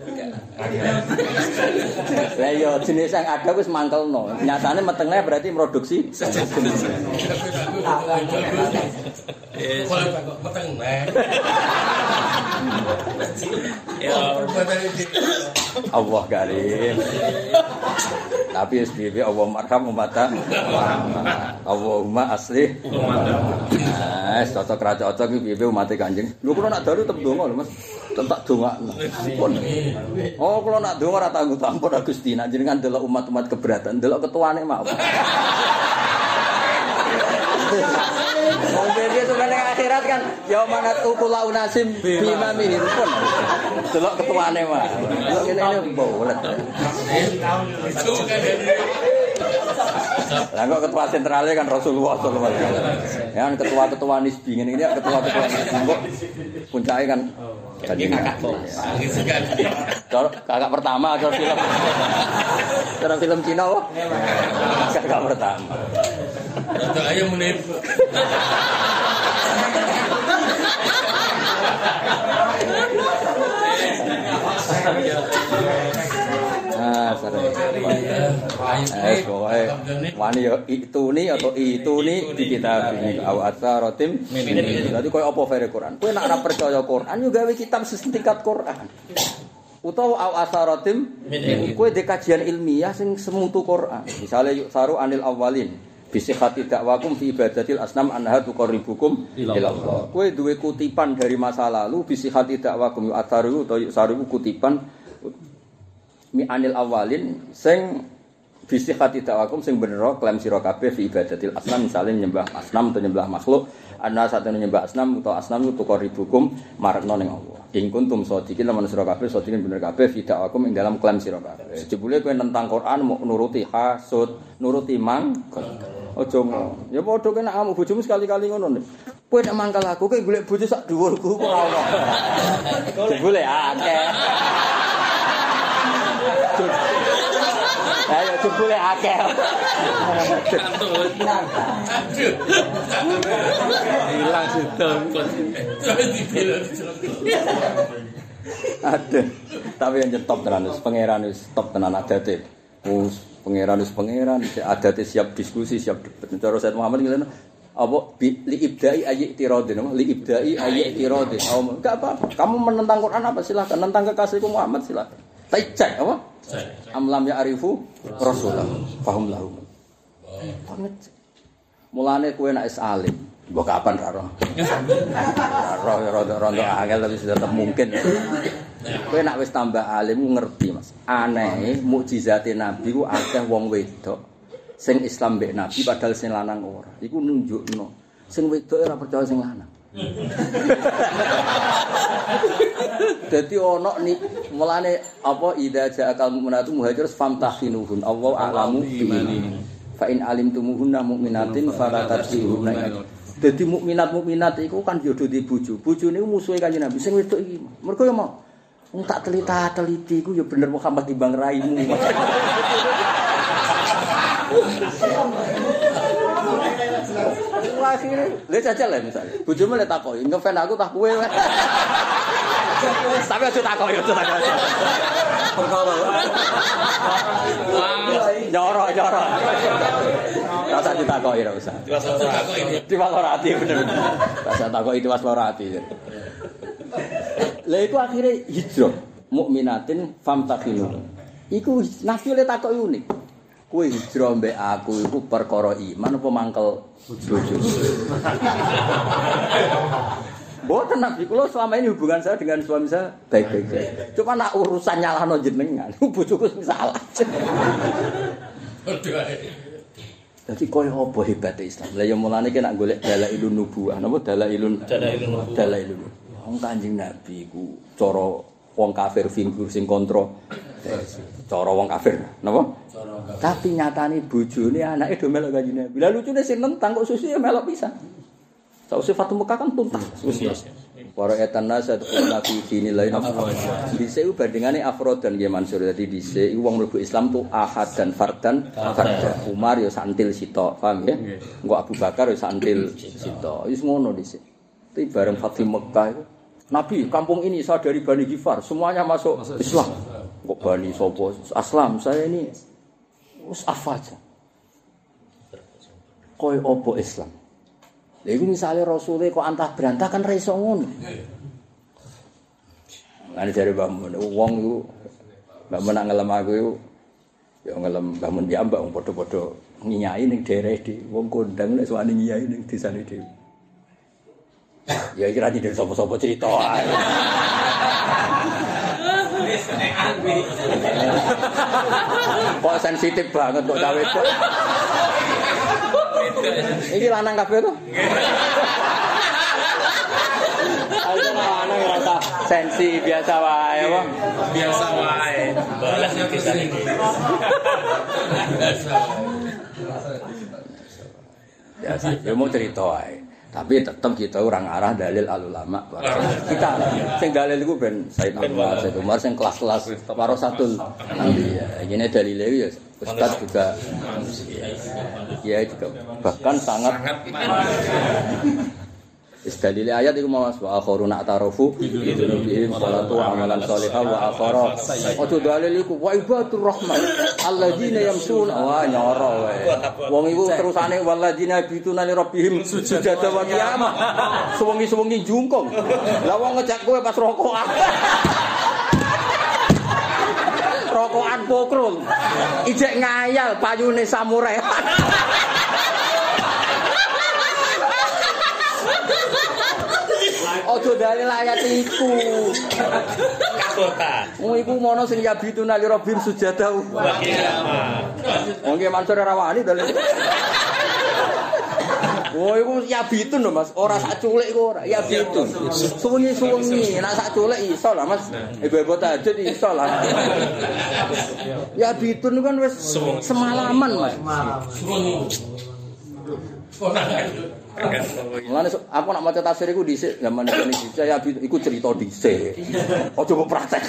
lah iya jenis yang ada wis mangkelno. Nyatane metengnya berarti produksi sejenis. Meteng meneh. Ya Allah karim. Tapi SBB Allah marham umatah. Allahumma aslih umatah. Cocok ra cocok iki piye umat Kanjeng. Lho kula nak dalu tetep donga lho Mas. Tak dongakno. Oh kula nak donga ora tanggung ampun Gusti. Nek jenengan delok umat-umat keberatan, delok ketuane mawon. Wong dhewe itu kan akhirat kan ya manat ukula unasim bima mihim pun. Delok ketuane mah. Delok ngene bolet. Lah kok ketua sentralnya kan Rasulullah sallallahu alaihi wasallam. Ya kan ketua-ketua nisbi ngene iki ketua-ketua nisbi puncake kan kakak pertama atau film. Cara film Cina kok. Kakak pertama. Ada ayo menip. Sering. Pokoknya wani ya ituni atau ituni di kitab ini aw atsaratim min. Dadi koyo apa fere Quran. Kowe nek ora percaya Quran yo gawe kitab setingkat Quran. Utawa aw atsaratim min. Kowe de kajian ilmiah sing semutu Quran. Misale yuk saru anil awwalin. Bisihati dakwakum fi ibadatil asnam anha tuqarribukum ilallah. Kowe duwe kutipan dari masa lalu bisihati dakwakum yuk atsaru utawa yuk saru kutipan mi anil awalin sing Bisihati dakwakum sing bener klaim sira kabeh fi ibadatil asnam misale nyembah asnam atau nyembah makhluk ana satene nyembah asnam utawa asnam itu qaribukum marekno ning Allah. In kuntum shadiqin lamun sira kabeh shadiqin bener kabeh fi dakwakum ing dalam klaim sira kabeh. Jebule kowe nentang Quran mau nuruti hasud, nuruti mangkel. Aja ngono. Ya padha kena kamu bojomu sekali-kali ngono. Kowe nek mangkel aku kowe golek bojo sak dhuwurku ora ono. Jebule akeh. Ayo jebule akeh. Hilang situ. Aduh. Tapi yang nyetop tenan wis pangeran wis stop tenan adate. Pangeran wis pangeran, adate siap diskusi, siap debat. Cara Said Muhammad ngene apa li ibda'i ayyi tiradin, li ibda'i ayyi tiradin. Enggak apa-apa. Kamu menentang Quran apa silakan, nentang kekasihku Muhammad silakan. Tapi cek apa? Amlam ya arifu Rasulullah. Fahum lahu. Banget. Mulane kowe nek is alim, mbok kapan ra roh. Rondo angel tapi tetep mungkin. Kowe nek wis tambah alim ngerti Mas. Aneh mukjizate Nabi ku akeh wong wedok sing Islam mbek Nabi padahal sing lanang ora. Iku nunjukno sing wedok ora percaya sing lanang. Dadi ono ni mulane apa idza ja'akal mu'minatu muhajirus famtahinuhun Allah a'lamu biimanihin fa in alimtumuhunna mu'minatin fala tarji'uhunna. Dadi mukminat iku kan yo do di bojo. Bojone musuhe Kanjeng Nabi sing wedok iki. Mergo yo mau wong tak teliti iku yo bener Muhammad timbang raimu. Akhirnya, lihat saja lah misalnya. Bojomu lihat takoki, ngefan aku tak kowe. Tapi aja takoki, aja takoki. Perkara. Nyoro. Rasa ditakoki ora usah. Tiwas ora ati bener. Rasa takoki tiwas ora ati. Lah iku akhirnya hijrah mukminatin famtakhinu. Iku nafi le takoki unik. Kowe hijrah mbek aku iku perkara iman apa mangkel bojo. Mboten Nabi kula selama ini hubungan saya dengan suami saya baik-baik saja. Cuma nak urusan nyalahno jenengan, bojoku sing salah. Dadi koyo apa hebate Islam. Lah ya mulane ki nak golek dalailun nubuwah, napa dalailun. Wong Kanjeng Nabi iku cara wong kafir figur sing kontro. Cara wong kafir, napa? Tapi nyatane bojone anake do melok Kanjeng Nabi. Lah lucune sing nentang kok susu ya melok pisan. Sausé Fatu Mekah kan tuntas. Para etan nasat nabi dinilai afrod. Dise ku bandingane afrodan nggih Mansur. Dadi dise iku wong mlebu Islam tuh ahad dan fardan. Umar ya santil sitok, paham ya? Engko Abu Bakar ya santil sitok. Wis ngono dise. Tapi bareng Fatu Mekah itu Nabi kampung ini saya dari Bani Ghifar, semuanya masuk Islam. Kok Bani sapa? Aslam, saya ini wis afaja. Koyo opo Islam? Lha iku misale rasule kok antah berantah kan ra iso ngono. Lan jare Mbah Mun, wong iku Mbah Mun ngelem aku iku ya ngelem Mbah Mun ya mbak wong padha-padha nyiyai ning daerah iki. Wong kondang nek suwane nyiyai ning desane dhewe. Ya kira tidak sapa-sapa cerita ae. Kok sensitif banget kok cawe kok. Iki lanang kabeh to? Ayo lanang rasa sensi biasa wae apa? Biasa wae. Balas yo kisah iki. Biasa. Ya mau cerita wae. Tapi tetap kita orang arah dalil al-ulama. Kita sing dalil iku ben Said Umar sing kelas-kelas warasatul anbiya. Ini dalile ya Ustaz juga ya juga bahkan sangat dalile ayat iku mawas wa akharuna ta'arufu bidzunubihim salatu amalan shalihah wa akhara. Ojo dalil iku wa ibadur rahman alladzina yamsuna wa nyoro wae. Wong iku terusane walladzina bituna li rabbihim sujada wa qiyamah. Suwengi-suwengi jungkung. Lah wong ngejak kowe pas rokokan. Rokokan pokrul. Ijek ngayal payune samurai. Ojo dalil ayat iku. kota. Iku mono sing yabituna li rabbim sujada. Wong ki Mansur ora wani to. Oh iku yabitun lho Mas, ora sak culik iku ora, yabitun. Suwengi-suwengi, nek sak culik iso lah Mas. Ibu-ibu tahajud iso lah. Yabitun kan wis semalaman Mas. Mulane aku nak maca tafsir iku dhisik zaman Indonesia ya iku cerita dhisik. Aja kok praktek.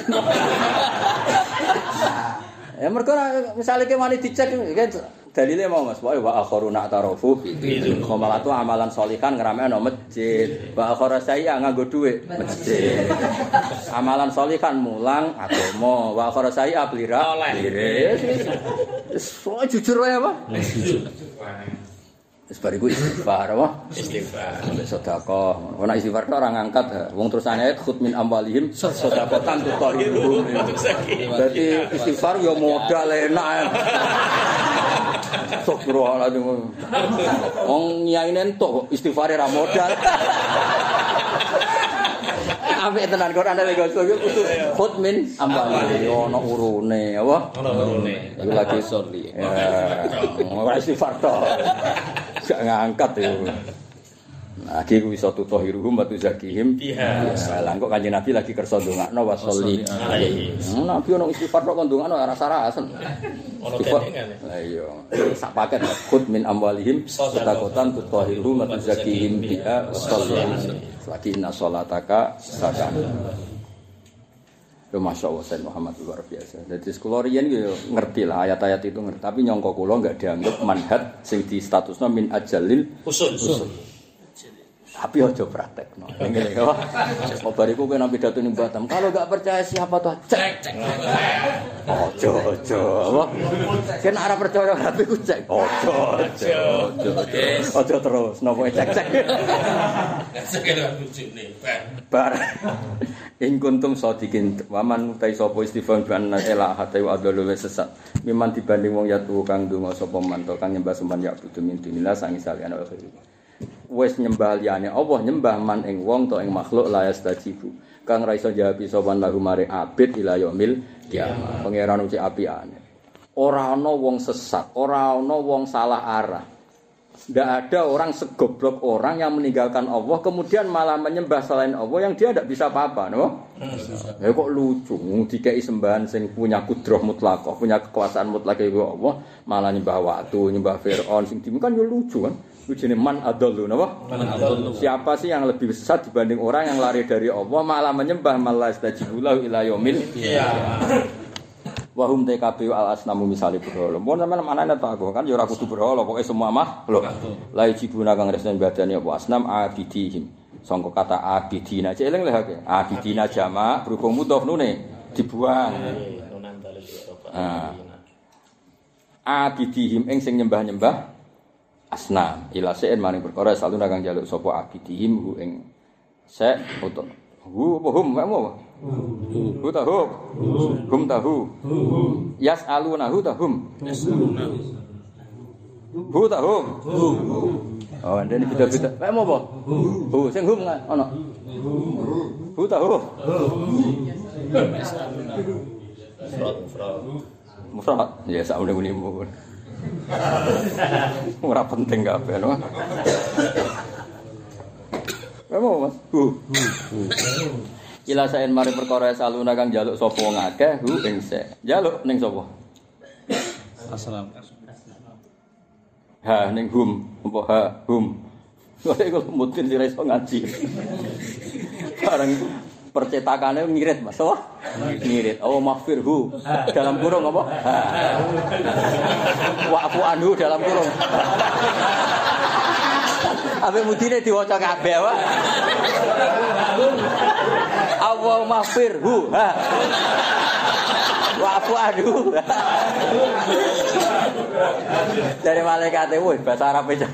Ya mergo misale ke wani dicek dalile mau Mas, wa akharuna ta'arufu khomalatu amalan sholihan ngramekno masjid. Wa akhara saya nganggo dhuwit masjid. Amalan sholihan mulang agama, wa akhara saya plira. So jujur wae apa? Wis bariku istighfar apa? Istighfar. Sedekah. Ora istighfar tok ora ngangkat. Wong terus ayat khut min amwalihim sedekatan tutahhiruhum. Dadi istighfar ya modal enak. Astagfirullahaladzim. Wong nyaine entuk istighfar ora modal. Ambek tenan Quran ada Gus kudu khut min amwalihim ono urune apa? Ono urune. Iku lagi sorli. Ora istighfar tok. Gak ngangkat itu. Nah, iki ku iso tutahhiruhum wa tuzakihim. Iya. Lah kok Kanjeng Nabi lagi kersa ndongakno wa sholli alaihi. Nabi ono istighfar kok ndongakno ora rasa-rasen. Ono gendengane. Lah iya. Sak paket khud min amwalihim sadaqatan tutahhiruhum wa tuzakihim biha wa sholli alaihi. Lagi inna sholataka sakan. Yo masyaallah Sayyid Muhammad luar biasa. Jadi sekolah riyen yo ngerti lah ayat-ayat itu ngerti, tapi nyangka kula enggak dianggap manhaj sing di statusna min ajalil usul. Tapi aja praktekno. Ngene ya. Kok bariku kowe nang pidato ning Batam, kalau enggak percaya siapa tuh cek. Ojo. Apa? Ken ora percaya tapi ku cek. Ojo. Terus nopo cek. Sekedar bujune, Bar. In kuntum shadiqin waman utai sapa istighfar bi anna ila hatta wa adallu sesat miman dibanding wong yatu kang donga sapa manto kang nyembah semban ya butuh mintinila sangi saliyane akhir wis nyembah liyane Allah nyembah man ing wong to ing makhluk la yastajibu kang ra iso jawab sapa lahu mare abid ila yaumil kiamah pangeran uci apiane ora ana wong sesat ora ana wong salah arah. Tidak ada orang segoblok orang yang meninggalkan Allah kemudian malah menyembah selain Allah yang dia tidak bisa apa-apa, no? Ya kok lucu, dikai sembahan sing punya kudrah mutlaqah, punya kekuasaan mutlak itu Allah, malah nyembah waktu, nyembah Firaun sing kan ya lucu kan? Lujune man adallu, napa? Siapa sih yang lebih sesat dibanding orang yang lari dari Allah malah menyembah malah istajibulahu ila yaumil qiyamah. Wahum TKP al asnamu misale berhala. Mun sampean manane ta aku kan ya ora kudu berhala, pokoke semua makhluk. La jibuna kang resnen badane apa asnam abidihim. Sangka kata abidina celing leh akeh. Abidina jamak berhubung mudhof nune dibuang. Abidihim ing sing nyembah-nyembah asnam. Ila sen maring perkara selalu kang njaluk sapa abidihim hu ing sek utawa hum apa? Hu tahu. Hum tahu. Yas'alunahu tahum. Hu tahu. Oh, ndene beda-beda. Kayak apa? Hu sing hum ana. Hu tahu. Mufrad. Ya sak muni mun. Ora penting kabeh, no. Kamu Mas? Ila saen mari perkara saluna kang njaluk sapa wong akeh hu ing sek. Njaluk ning sapa? Assalam. Ha ning hum, apa ha hum. Kok iku mungkin ora iso ngaji. Bareng percetakane ngirit Mas, apa? Ngirit. Oh maghfirhu dalam kurung apa? Wa'fu anhu dalam kurung. Ape mudine diwaca kabeh wae. Allahumma firhu wa'fu anhu. Dari malaikat wis bahasa Arab aja.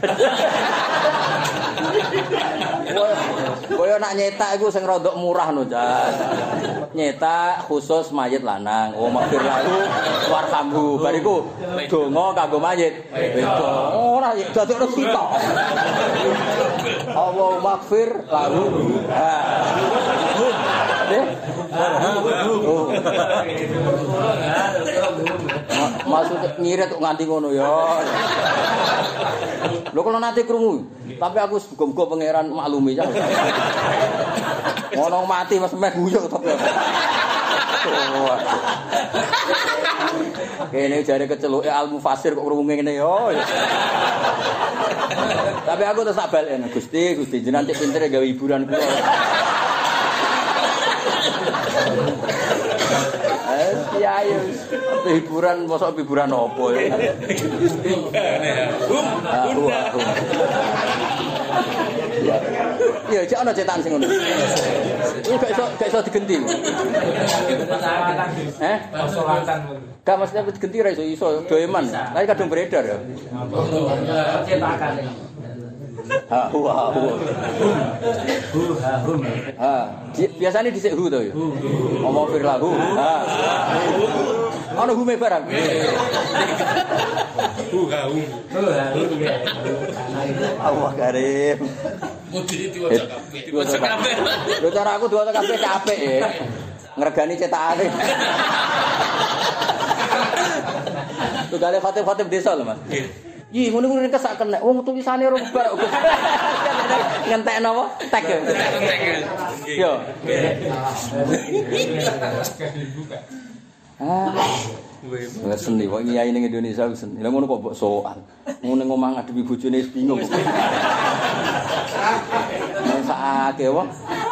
Koyo nak nyetak iku sing rodok murah no, Jan. Nyetak khusus mayit lanang. Oh maghfir lahu warhamhu. Bariku donga kanggo mayit. Beda. Ora dadekno sitok. Allahumma maghfir lahu. Maksud ngirit kok nganti ngono ya. Lho kalau nanti krungu, tapi aku muga-muga pangeran maklumi ya. Ngono mati Mas meh guyu tapi. Kene jare keceluke al-mufassir kok krungu ngene yo. Tapi aku terus tak balen, Gusti jenengan cek pintere gawe hiburan kula. Ayo, hiburan mosok hiburan opo ya? Iya, cek ana cetakan sing ngono. Iki gak iso digenti. Gak mesti digenti ra iso doeman. Lah kadung beredar ya. Cetakan. Biasanya dhisik hu to ya. Ngomong firlahu. Ana hume barang. Allah karim. Mudi diwaca kabeh. Lho cara aku diwaca kabeh capek ya. Ngregani cetakane. Tugale khatib desa lho Mas. Ih, ngono-ngono kesak kena. Wong tulisane ora bar. Ngentekno apa? Tag. Yo. Wes seni kok nyai ning Indonesia wis seni. Lah ngono kok mbok soal. Ngono ngomong ngadepi bojone wis bingung. Sakake wae.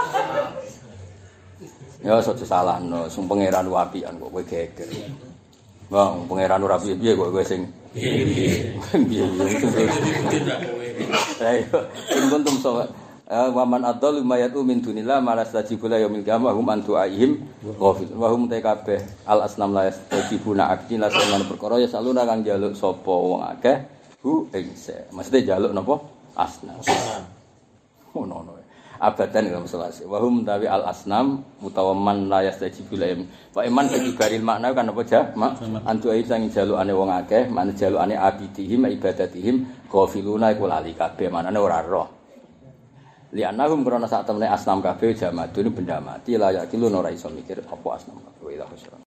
Ya aja salahno, sing pangeran wapian kok kowe geger. Wong pangeran ora piye-piye kok kowe sing piye. Ayo, kuntum sawa. Wa man adall mayatu min dunillah malastajibula yaumil qiyamah hum antu aihim ghafil. Wa hum kabeh al asnam la yastajibuna akti la sanan perkara ya saluna kang njaluk sapa wong akeh hu ingse. Mesti njaluk napa? Asnam. Ngono. Abadan dalam selasi. Wa hum tawi al asnam utawa man la yastajibula yaum. Wa iman ibaril makna kan apa ja? Antu aihim sang jalukane wong akeh, man jalukane abidihim ibadatihim ghafiluna iku lali kabeh manane ora roh. Lianahum karena saat temen asnam kabeh jamadun benda mati layak kilun ora iso mikir apa asnam kabeh.